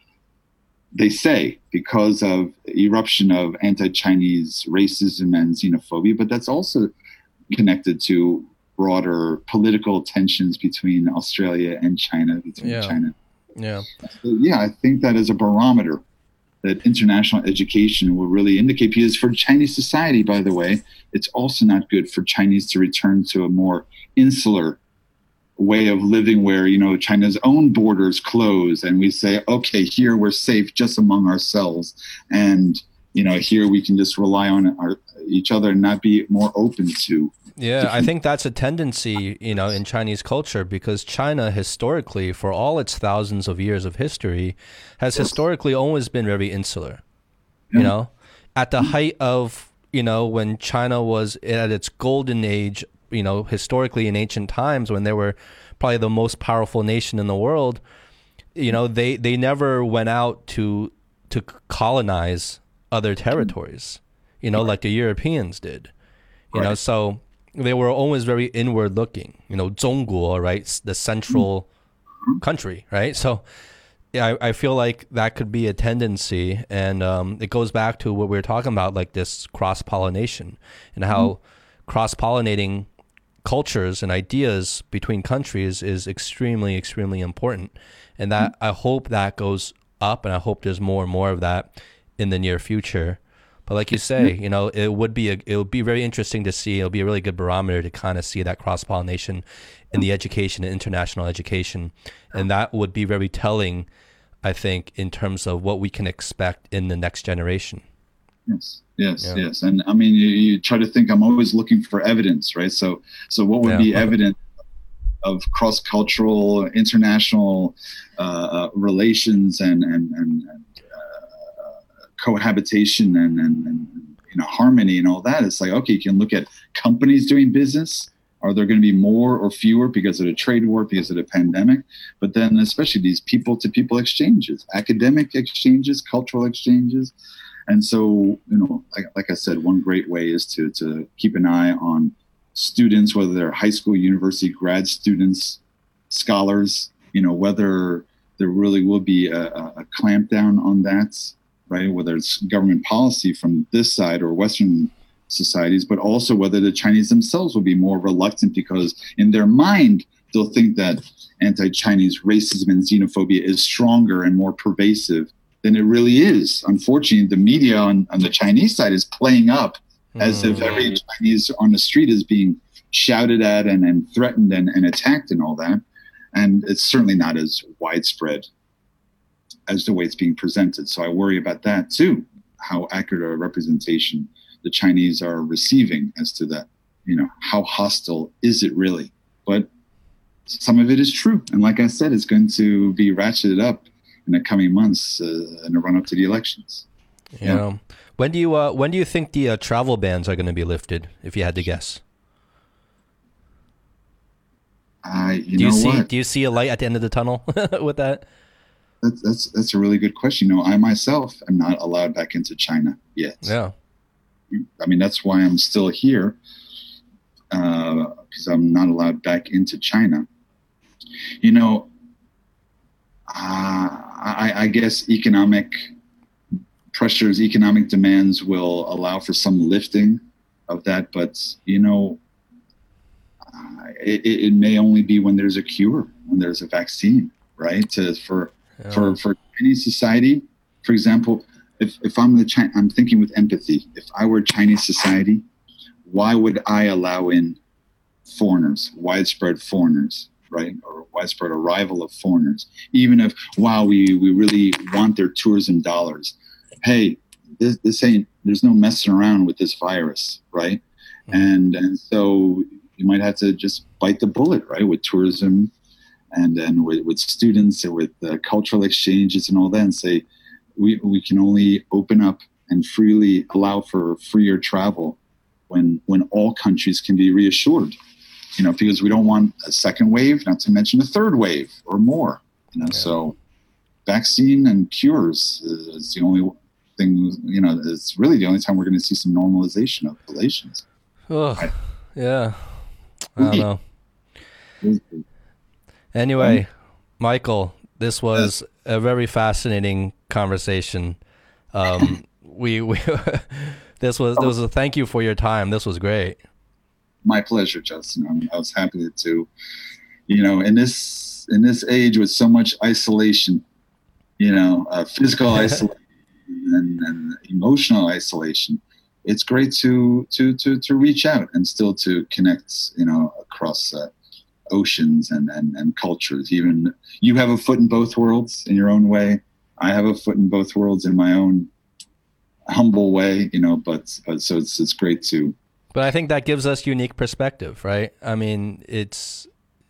B: eruption of anti-Chinese racism and xenophobia, but that's also connected to broader political tensions between Australia and China, China.
A: Yeah.
B: So, I think that is a barometer that international education will really indicate, because for Chinese society, by the way, it's also not good for Chinese to return to a more insular way of living where, China's own borders close and we say, okay, here we're safe just among ourselves. And, here we can just rely on each other and not be more open to.
A: Yeah, I think that's a tendency, in Chinese culture, because China historically, for all its thousands of years of history, has historically always been very insular. At the height of, when China was at its golden age, historically in ancient times, when they were probably the most powerful nation in the world, they never went out to colonize other territories, like the Europeans did, so they were always very inward looking, Zhongguo, right? The central country, right? So I feel like that could be a tendency. And it goes back to what we were talking about, like this cross-pollination and how cross-pollinating cultures and ideas between countries is extremely, extremely important. And that I hope that goes up, and I hope there's more and more of that in the near future. But like you say, it would be very interesting to see. It'll be a really good barometer to kind of see that cross-pollination in the education and international education. And that would be very telling, I think, in terms of what we can expect in the next generation.
B: Yes. And I mean, you try to think, I'm always looking for evidence, right? So what would be evidence of cross-cultural, international relations and cohabitation and harmony and all that? It's like, okay, you can look at companies doing business. Are there going to be more or fewer because of the trade war, because of the pandemic? But then especially these people-to-people exchanges, academic exchanges, cultural exchanges. And so, like I said, one great way is to keep an eye on students, whether they're high school, university, grad students, scholars, whether there really will be a clampdown on that, right? Whether it's government policy from this side or Western societies, but also whether the Chinese themselves will be more reluctant, because in their mind, they'll think that anti-Chinese racism and xenophobia is stronger and more pervasive than it really is. Unfortunately, the media on the Chinese side is playing up as if every Chinese on the street is being shouted at and threatened and attacked and all that. And it's certainly not as widespread as the way it's being presented. So I worry about that too, how accurate a representation the Chinese are receiving as to that, how hostile is it really? But some of it is true. And like I said, it's going to be ratcheted up in the coming months in the run up to the elections.
A: Yeah. When do you think the travel bans are going to be lifted, if you had to guess? Do you see a light at the end of the tunnel with that?
B: That's a really good question. I myself am not allowed back into China yet.
A: Yeah.
B: I mean, that's why I'm still here, because I'm not allowed back into China. I guess economic pressures, economic demands will allow for some lifting of that, but it may only be when there's a cure, when there's a vaccine, right? For any society, for example, if I'm I'm thinking with empathy. If I were Chinese society, why would I allow in foreigners, widespread foreigners, right? Or widespread arrival of foreigners, even if, we really want their tourism dollars. Hey, this ain't, there's no messing around with this virus, right? And so you might have to just bite the bullet, right, with tourism and with students and with cultural exchanges and all that, and say we can only open up and freely allow for freer travel when all countries can be reassured, because we don't want a second wave, not to mention a third wave or more, So vaccine and cures is the only thing, it's really the only time we're going to see some normalization of relations.
A: Oh, yeah. I don't know. Anyway, Michael, this was a very fascinating conversation. We this was a thank you for your time. This was great.
B: My pleasure, Justin. I was happy to, in this age with so much isolation, physical isolation and emotional isolation, it's great to reach out and still to connect, across oceans and cultures. Even you have a foot in both worlds in your own way. I have a foot in both worlds in my own humble way, but so it's great to.
A: But I think that gives us unique perspective, right? I mean, it's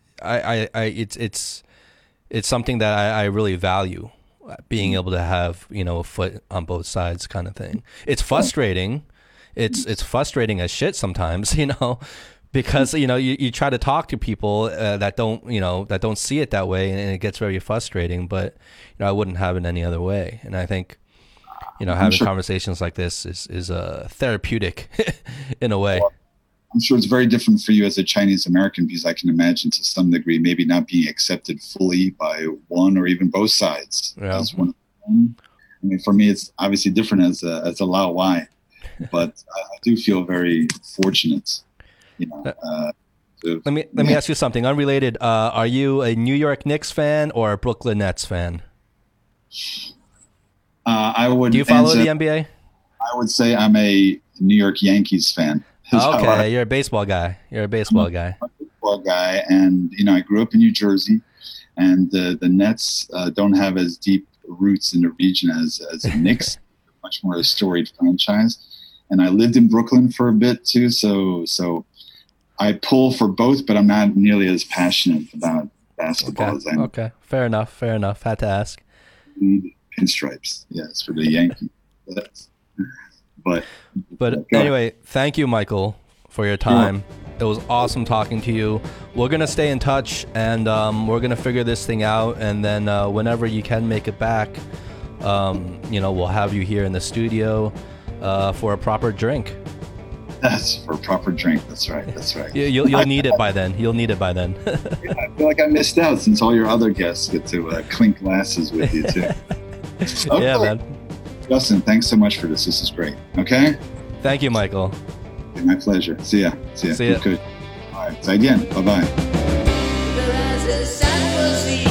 A: something that I really value, being able to have, a foot on both sides kind of thing. It's frustrating. It's frustrating as shit sometimes, because, you try to talk to people that don't see it that way, and it gets very frustrating, but, I wouldn't have it any other way. And I think, having conversations like this is therapeutic in a way.
B: Well, I'm sure it's very different for you as a Chinese American, because I can imagine to some degree maybe not being accepted fully by one or even both sides.
A: Yeah.
B: As one. I mean, for me, it's obviously different as a Lao Wai, but I do feel very fortunate.
A: Let me ask you something unrelated. Are you a New York Knicks fan or a Brooklyn Nets fan?
B: I would.
A: Do you follow the NBA?
B: I would say I'm a New York Yankees fan.
A: Okay, you're a baseball guy. I'm a baseball
B: guy, and I grew up in New Jersey, and the Nets don't have as deep roots in the region as the Knicks. Much more a storied franchise, and I lived in Brooklyn for a bit too. So I pull for both, but I'm not nearly as passionate about basketball as I am.
A: Okay, fair enough. Had to ask.
B: Pinstripes, yes, for the Yankees. But
A: anyway, thank you, Michael, for your time. It was awesome talking to you. We're gonna stay in touch, and we're gonna figure this thing out. And then whenever you can make it back, we'll have you here in the studio for a proper drink.
B: That's for a proper drink. That's right.
A: You'll need it by then.
B: Yeah, I feel like I missed out since all your other guests get to clink glasses with you too. Okay.
A: Yeah, man.
B: Justin, thanks so much for this. This is great. Okay?
A: Thank you, Michael.
B: My pleasure. See ya.
A: See ya.
B: Good. All right. 再见. Bye-bye.